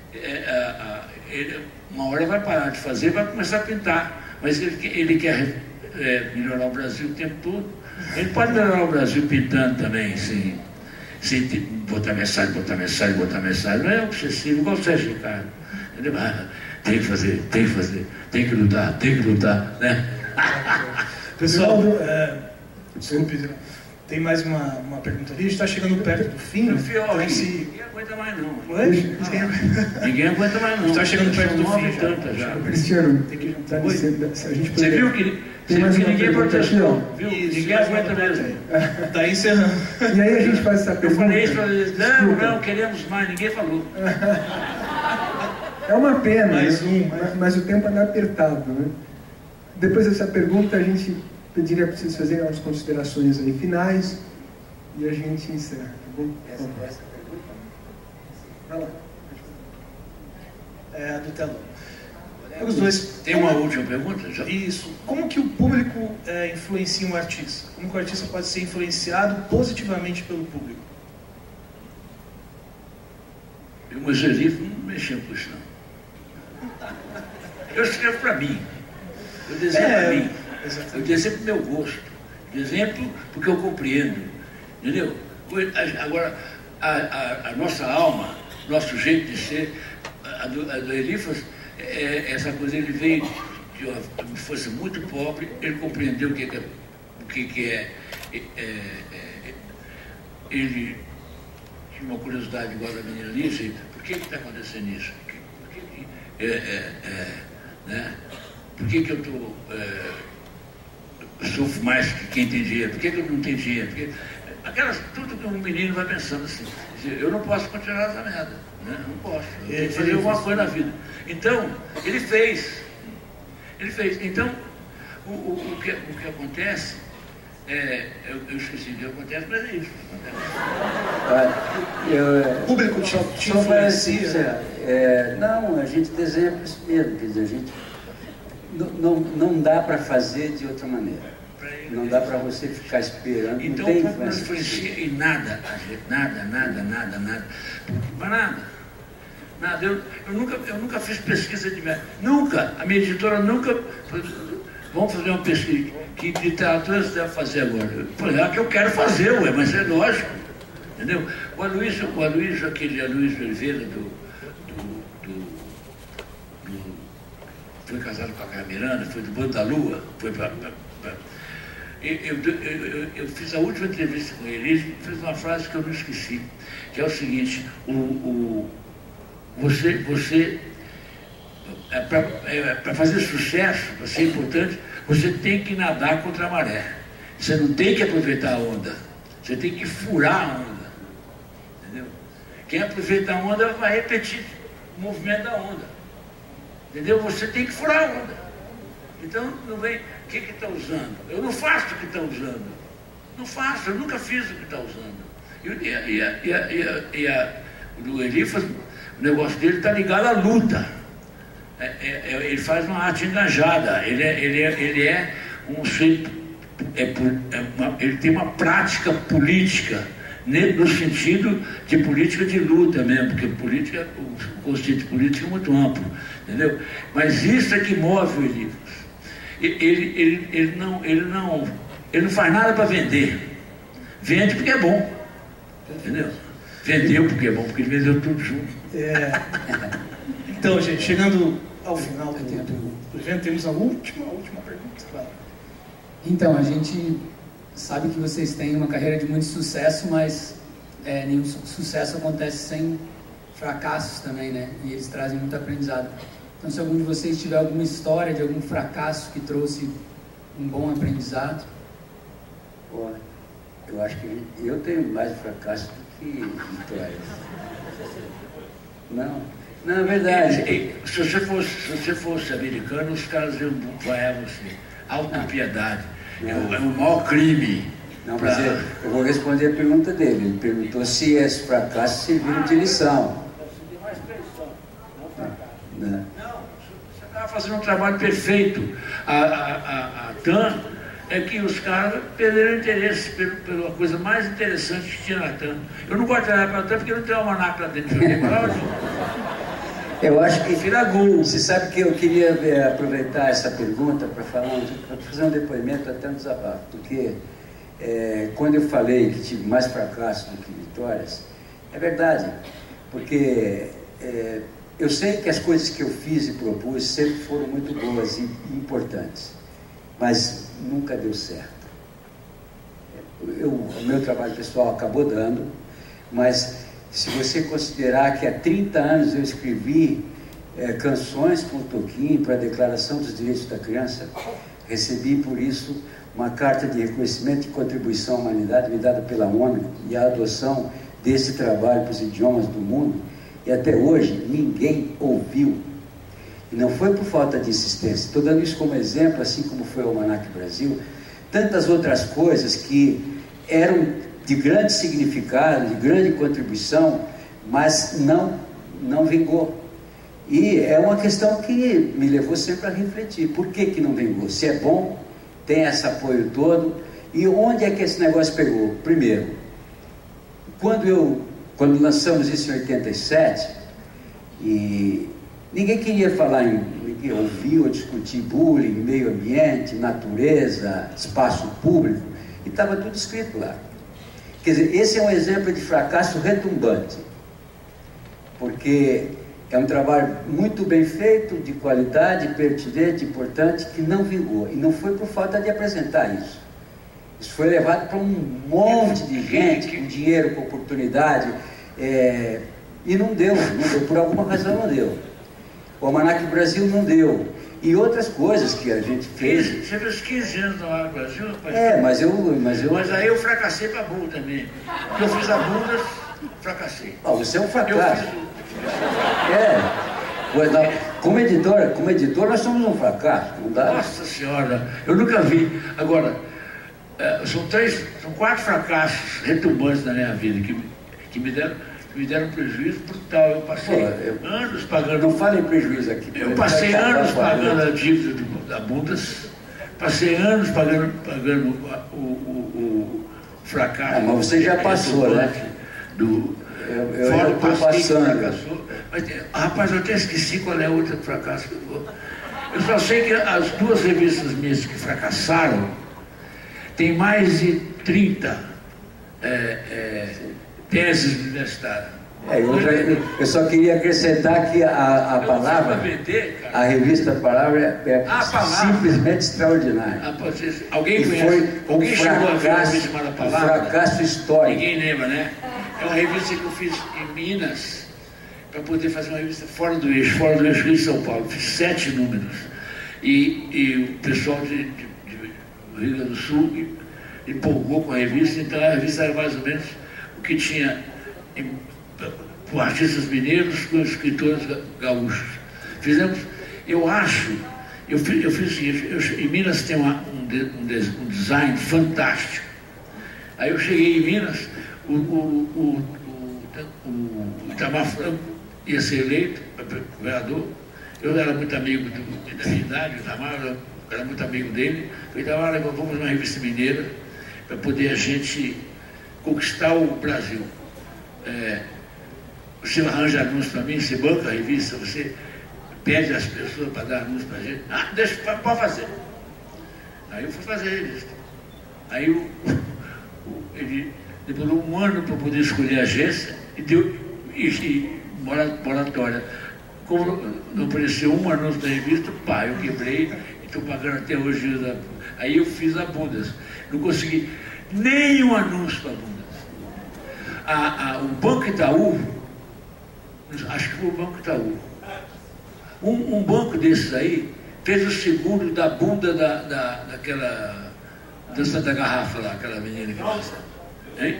uma hora vai parar de fazer e vai começar a pintar. Mas ele quer melhorar o Brasil o tempo todo. Ele pode melhorar o Brasil pintando também, sem botar mensagem. Não é obsessivo, igual o Sérgio Ricardo. Entendeu? Tem que fazer, tem que lutar, né? Pessoal, desculpe, tem mais uma pergunta ali, a gente está chegando perto do fim. Ninguém aguenta mais não. Ninguém aguenta mais não. Está chegando perto do fim. Já. Cristiano, tem que dá licença, a gente você viu que ninguém protestou? Viu? Ninguém aguenta mesmo. Está encerrando. E aí a gente faz essa pergunta. Eu falei isso para eles, não, queremos mais, ninguém falou. É uma pena, mas o tempo anda apertado, né? Depois dessa pergunta, a gente pediria para vocês fazerem umas considerações aí finais e a gente encerra, tá bom? Essa pergunta? Vai lá. É a do telão. Os dois. Tem uma última pergunta? Já? Isso. Como que o público influencia um artista? Como que o artista pode ser influenciado positivamente pelo público? Eu, o Angelito, não mexeu com isso, não. Eu escrevo para mim. Eu desenho para mim. Eu desenho para o meu gosto. Desenho porque eu compreendo. Entendeu? Agora, a nossa alma, nosso jeito de ser, a do Elifas, essa coisa, ele veio de uma força muito pobre, ele compreendeu o que é. Ele tinha uma curiosidade igual da menina Lígia, por que está acontecendo isso? Né? Por que eu sofro mais que quem tem dinheiro? Por que eu não tenho dinheiro? Tudo que um menino vai pensando assim, eu não posso continuar essa merda, né? Não posso, eu tenho que fazer alguma coisa na vida. Então, ele fez. Então, o que acontece, eu esqueci o que acontece, mas é isso. O público te influencia? Não, a gente desenha por isso mesmo, quer dizer, a gente não dá para fazer de outra maneira. Não dá para você ficar esperando. Então, não tem não influencia em nada, nada. Mas nada. Eu nunca fiz pesquisa de merda. Nunca. A minha editora nunca. Vamos fazer uma pesquisa. Que literatura você deve fazer agora? Eu falei, é que eu quero fazer, mas é lógico. Entendeu? O Aloysio Oliveira, foi casado com a Carmen Miranda, foi do Bando da Lua, foi para. Eu fiz a última entrevista com ele, ele fez uma frase que eu não esqueci, que é o seguinte: você para fazer sucesso, para ser importante, você tem que nadar contra a maré. Você não tem que aproveitar a onda, você tem que furar a onda. Entendeu? Quem aproveita a onda vai repetir o movimento da onda. Entendeu? Você tem que furar a onda. Então, não vem, o que está usando? Eu não faço o que está usando. Não faço, eu nunca fiz o que está usando. O Elifas, o negócio dele está ligado à luta. Ele faz uma arte engajada. Ele é um sujeito, ele tem uma prática política, no sentido de política de luta mesmo, porque política, o conceito político é muito amplo, entendeu? Mas isso é que move o Elifas. Ele não faz nada para vender. Vende porque é bom, entendeu? Vendeu porque é bom, porque ele vendeu tudo junto. Então, gente, chegando ao final do evento, temos a última pergunta. Claro. Então, a gente sabe que vocês têm uma carreira de muito sucesso, mas nenhum sucesso acontece sem fracassos também, né? E eles trazem muito aprendizado. Então, se algum de vocês tiver alguma história de algum fracasso que trouxe um bom aprendizado. Pô, eu acho que eu tenho mais fracasso do que vitórias. Não, é verdade. Se você fosse americano, os caras iam vaiar você. Autopiedade. É o maior crime. Não, mas eu vou responder a pergunta dele. Ele perguntou se esses fracassos serviram de lição. Não, você estava fazendo um trabalho perfeito. A TAM é que os caras perderam interesse pela coisa mais interessante que tinha na TAM. Eu não gosto de olhar para a TAM porque não tem uma almanac lá dentro de Eu acho que você sabe que eu queria aproveitar essa pergunta para fazer um depoimento, até um desabafo, porque Quando eu falei que tive mais fracassos do que vitórias, é verdade, porque eu sei que as coisas que eu fiz e propus sempre foram muito boas e importantes, mas nunca deu certo. O meu trabalho pessoal acabou dando, mas se você considerar que há 30 anos eu escrevi canções com o Toquinho para a Declaração dos Direitos da Criança, recebi por isso uma carta de reconhecimento e contribuição à humanidade me dada pela ONU e a adoção desse trabalho para os idiomas do mundo, e até hoje ninguém ouviu. E não foi por falta de insistência. Estou dando isso como exemplo, assim como foi o Almanac Brasil, tantas outras coisas que eram de grande significado, de grande contribuição, mas não vingou. E é uma questão que me levou sempre a refletir. Por que não vingou? Se é bom, tem esse apoio todo, e onde é que esse negócio pegou? Primeiro, quando lançamos isso em 87, e ninguém queria falar ninguém ouvir ou discutir bullying, meio ambiente, natureza, espaço público, e estava tudo escrito lá. Quer dizer, esse é um exemplo de fracasso retumbante, porque é um trabalho muito bem feito, de qualidade, pertinente, importante, que não vingou. E não foi por falta de apresentar isso. Isso foi levado para um monte de gente, com dinheiro, com oportunidade, e não deu, por alguma razão não deu. O Almanac Brasil não deu. E outras coisas que a gente fez. Você fez 15 anos no Almanac Brasil? Mas aí eu fracassei para a Bunda também. Eu fiz a Bunda, fracassei. Você é um fracasso. Como editor nós somos um fracasso. Não dá. Nossa Senhora, eu nunca vi. Agora, são 4 fracassos retumbantes na minha vida que me deram prejuízo brutal. Eu passei anos pagando. Não fale em prejuízo aqui. Eu passei anos pagando a dívida da Bundas, passei anos pagando o fracasso. Mas você já passou, né? Fora o passeio que fracassou. Mas, rapaz, eu até esqueci qual é o outro fracasso que eu vou. Eu só sei que as 2 revistas minhas que fracassaram tem mais de 30 teses universitárias. Eu só queria acrescentar que a palavra, a revista Palavra é simplesmente extraordinária. Alguém conhece? Alguém chegou a ver a revista chamada Palavra? Fracasso histórico. Ninguém lembra, né? É uma revista que eu fiz em Minas para poder fazer uma revista fora do eixo de São Paulo. Fiz 7 números. E o pessoal do Rio Grande do Sul empolgou com a revista, então a revista era mais ou menos o que tinha com artistas mineiros, com escritores gaúchos. Eu fiz o seguinte, em Minas tem um design fantástico. Aí eu cheguei em Minas, o Itamar Franco ia ser eleito governador, eu era muito amigo da minha idade, o Itamar era muito amigo dele, eu Itamar, vamos fazer uma revista mineira para poder a gente conquistar o Brasil. Você arranja anúncio para mim, você banca a revista, você pede às pessoas para dar anúncio para a gente. Pode fazer. Aí eu fui fazer a revista. Aí ele demorou 1 ano para poder escolher a agência e deu moratória. Como não apareceu um anúncio da revista, eu quebrei e estou pagando até hoje. Aí eu fiz a Bundas. Não consegui nenhum anúncio para a Bundas. O Banco Itaú, acho que foi o Banco Itaú, um banco desses aí fez o seguro da bunda daquela dança da garrafa lá, aquela menina que dança. Hein?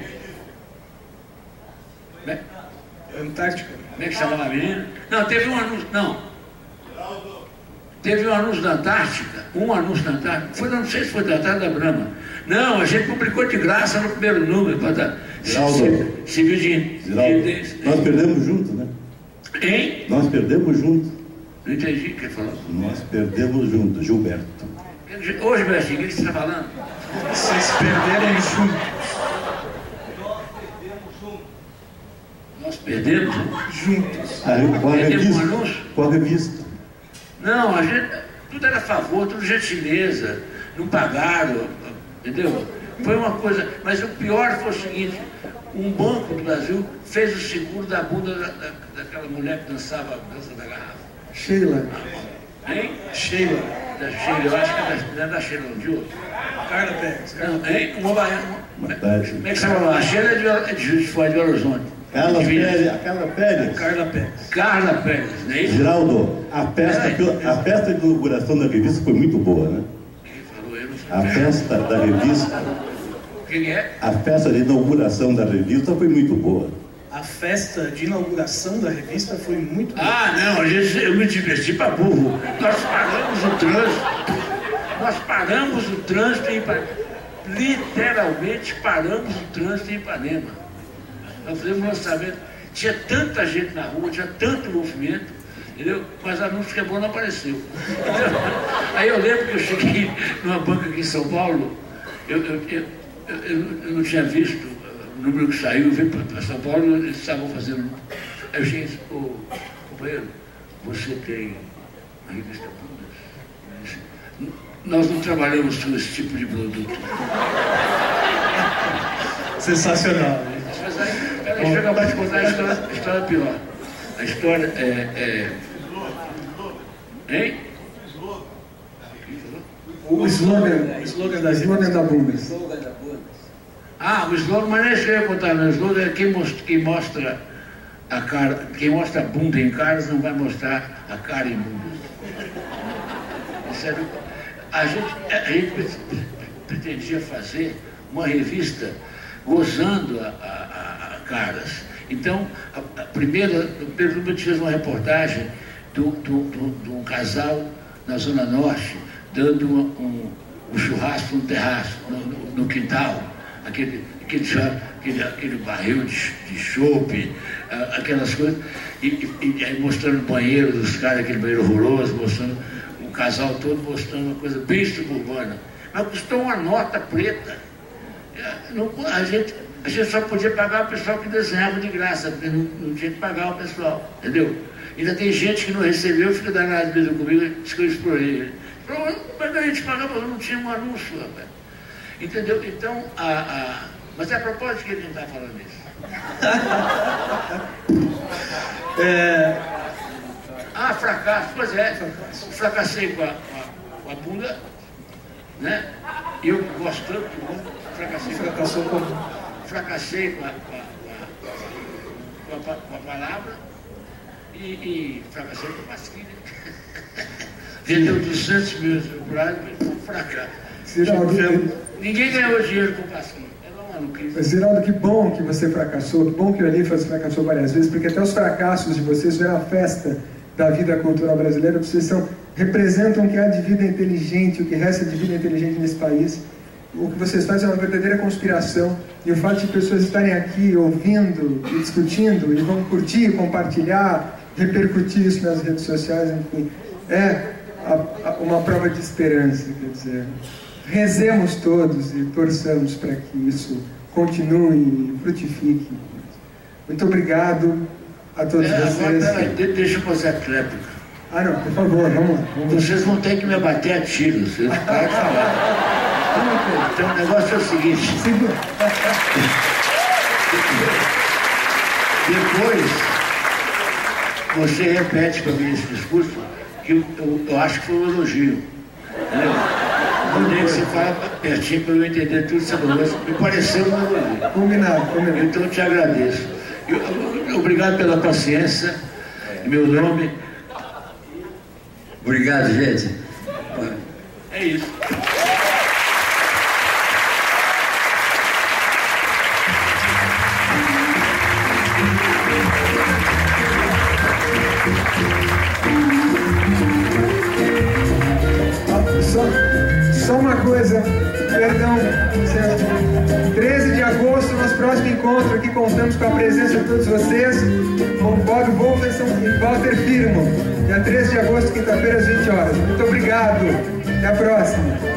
Antártica. Como é que chamava a menina? Não, teve um anúncio, não. Teve um anúncio da Antártica, não sei se foi da Antártica da Brahma. Não, a gente publicou de graça no primeiro número. Geraldo, nós perdemos junto, né? Hein? Nós perdemos junto. Não entendi o que ele falou. Nós perdemos junto, Gilberto. Ô, Gilberto, o que você está falando? Vocês perderam juntos. Nós perdemos juntos. Perdemos um anúncio? Com a revista. Não, tudo era a favor, tudo gentileza. Não pagaram, entendeu? Foi uma coisa, mas o pior foi o seguinte, um banco do Brasil fez o seguro da bunda daquela mulher que dançava a dança da garrafa. Sheila. Hein? Sheila. Da Sheila, eu acho que não é da Sheila, não, de outro. Carla Pérez. Hein? Como é que chama? A Sheila é de Juiz de Fora, de Belo Horizonte. Carla Pérez. Carla Pérez. Carla Pérez, não é isso? Geraldo, a festa de inauguração da revista foi muito boa, né? A festa da revista. Quem é? A festa de inauguração da revista foi muito boa. A festa de inauguração da revista foi muito boa. Ah, não, eu me diverti para burro. Nós paramos o trânsito. Nós paramos o trânsito em Ipanema. Literalmente paramos o trânsito em Ipanema. Nós fizemos um lançamento. Tinha tanta gente na rua, tinha tanto movimento, entendeu? Mas anúncio que é bom não apareceu. Então, aí eu lembro que eu cheguei numa banca aqui em São Paulo, eu não tinha visto o número que saiu, eu vim para São Paulo, eles estavam fazendo. Aí eu cheguei e disse, companheiro, você tem a revista Bundas? Nós não trabalhamos com esse tipo de produto. Sensacional. Mas aí, peraí, chega para te contar a história pior. A história Hein? O slogan da Bundas. Ah, o slogan, mas não é isso que eu ia contar, o slogan é quem mostra a cara, quem mostra a bunda em caras não vai mostrar a cara em bundas. A gente pretendia fazer uma revista gozando a caras. Então, o primeiro número fez uma reportagem de um casal na Zona Norte, dando um churrasco no terraço, no quintal, aquele barril de chope, aquelas coisas, e aí mostrando o banheiro dos caras, aquele banheiro horroroso, mostrando o casal todo, mostrando uma coisa bem suburbana. Mas custou uma nota preta. A gente só podia pagar o pessoal que desenhava de graça, porque não tinha que pagar o pessoal, entendeu? Ainda tem gente que não recebeu, fica danado mesmo comigo, diz que eu explorei. Mas a gente pagava, não tinha um anúncio, rapaz. Entendeu? Então, mas é a propósito que ele não está falando isso. Fracasso, pois é. Fracassei com a bunda, né? E eu gosto tanto de bunda, fracassei com a palavra e fracassei com a pasquilha. Vendeu 200 mil exemplares, mas foi um fracasso. Ninguém ganhou dinheiro com pasquilha. Ziraldo, que bom que você fracassou, que bom que o Elifas fracassou várias vezes, porque até os fracassos de vocês eram a festa da vida cultural brasileira. Vocês representam o que há de vida inteligente, o que resta de vida inteligente nesse país. O que vocês fazem é uma verdadeira conspiração, e o fato de pessoas estarem aqui ouvindo e discutindo e vão curtir, compartilhar, repercutir isso nas redes sociais, enfim, é uma prova de esperança. Quer dizer, rezemos todos e torçamos para que isso continue e frutifique. Muito obrigado a todos vocês. Agora, deixa eu fazer a tréplica. Não, por favor, vamos lá. Vocês vão ter que me abater a tiros, vocês não podem falar. Então o negócio é o seguinte. Depois, você repete para mim esse discurso, que eu acho que foi um elogio. Entendeu? Eu tenho que você fala pertinho para eu entender tudo isso, mas me pareceu um elogio. Combinado. Então eu te agradeço. Obrigado pela paciência. Meu nome. Obrigado, gente. É isso. Só uma coisa, perdão, certo? 13 de agosto, nosso próximo encontro aqui, contamos com a presença de todos vocês, com Bob Wolferson e Walter Firmo, dia 13 de agosto, quinta-feira, às 20 horas. Muito obrigado, até a próxima.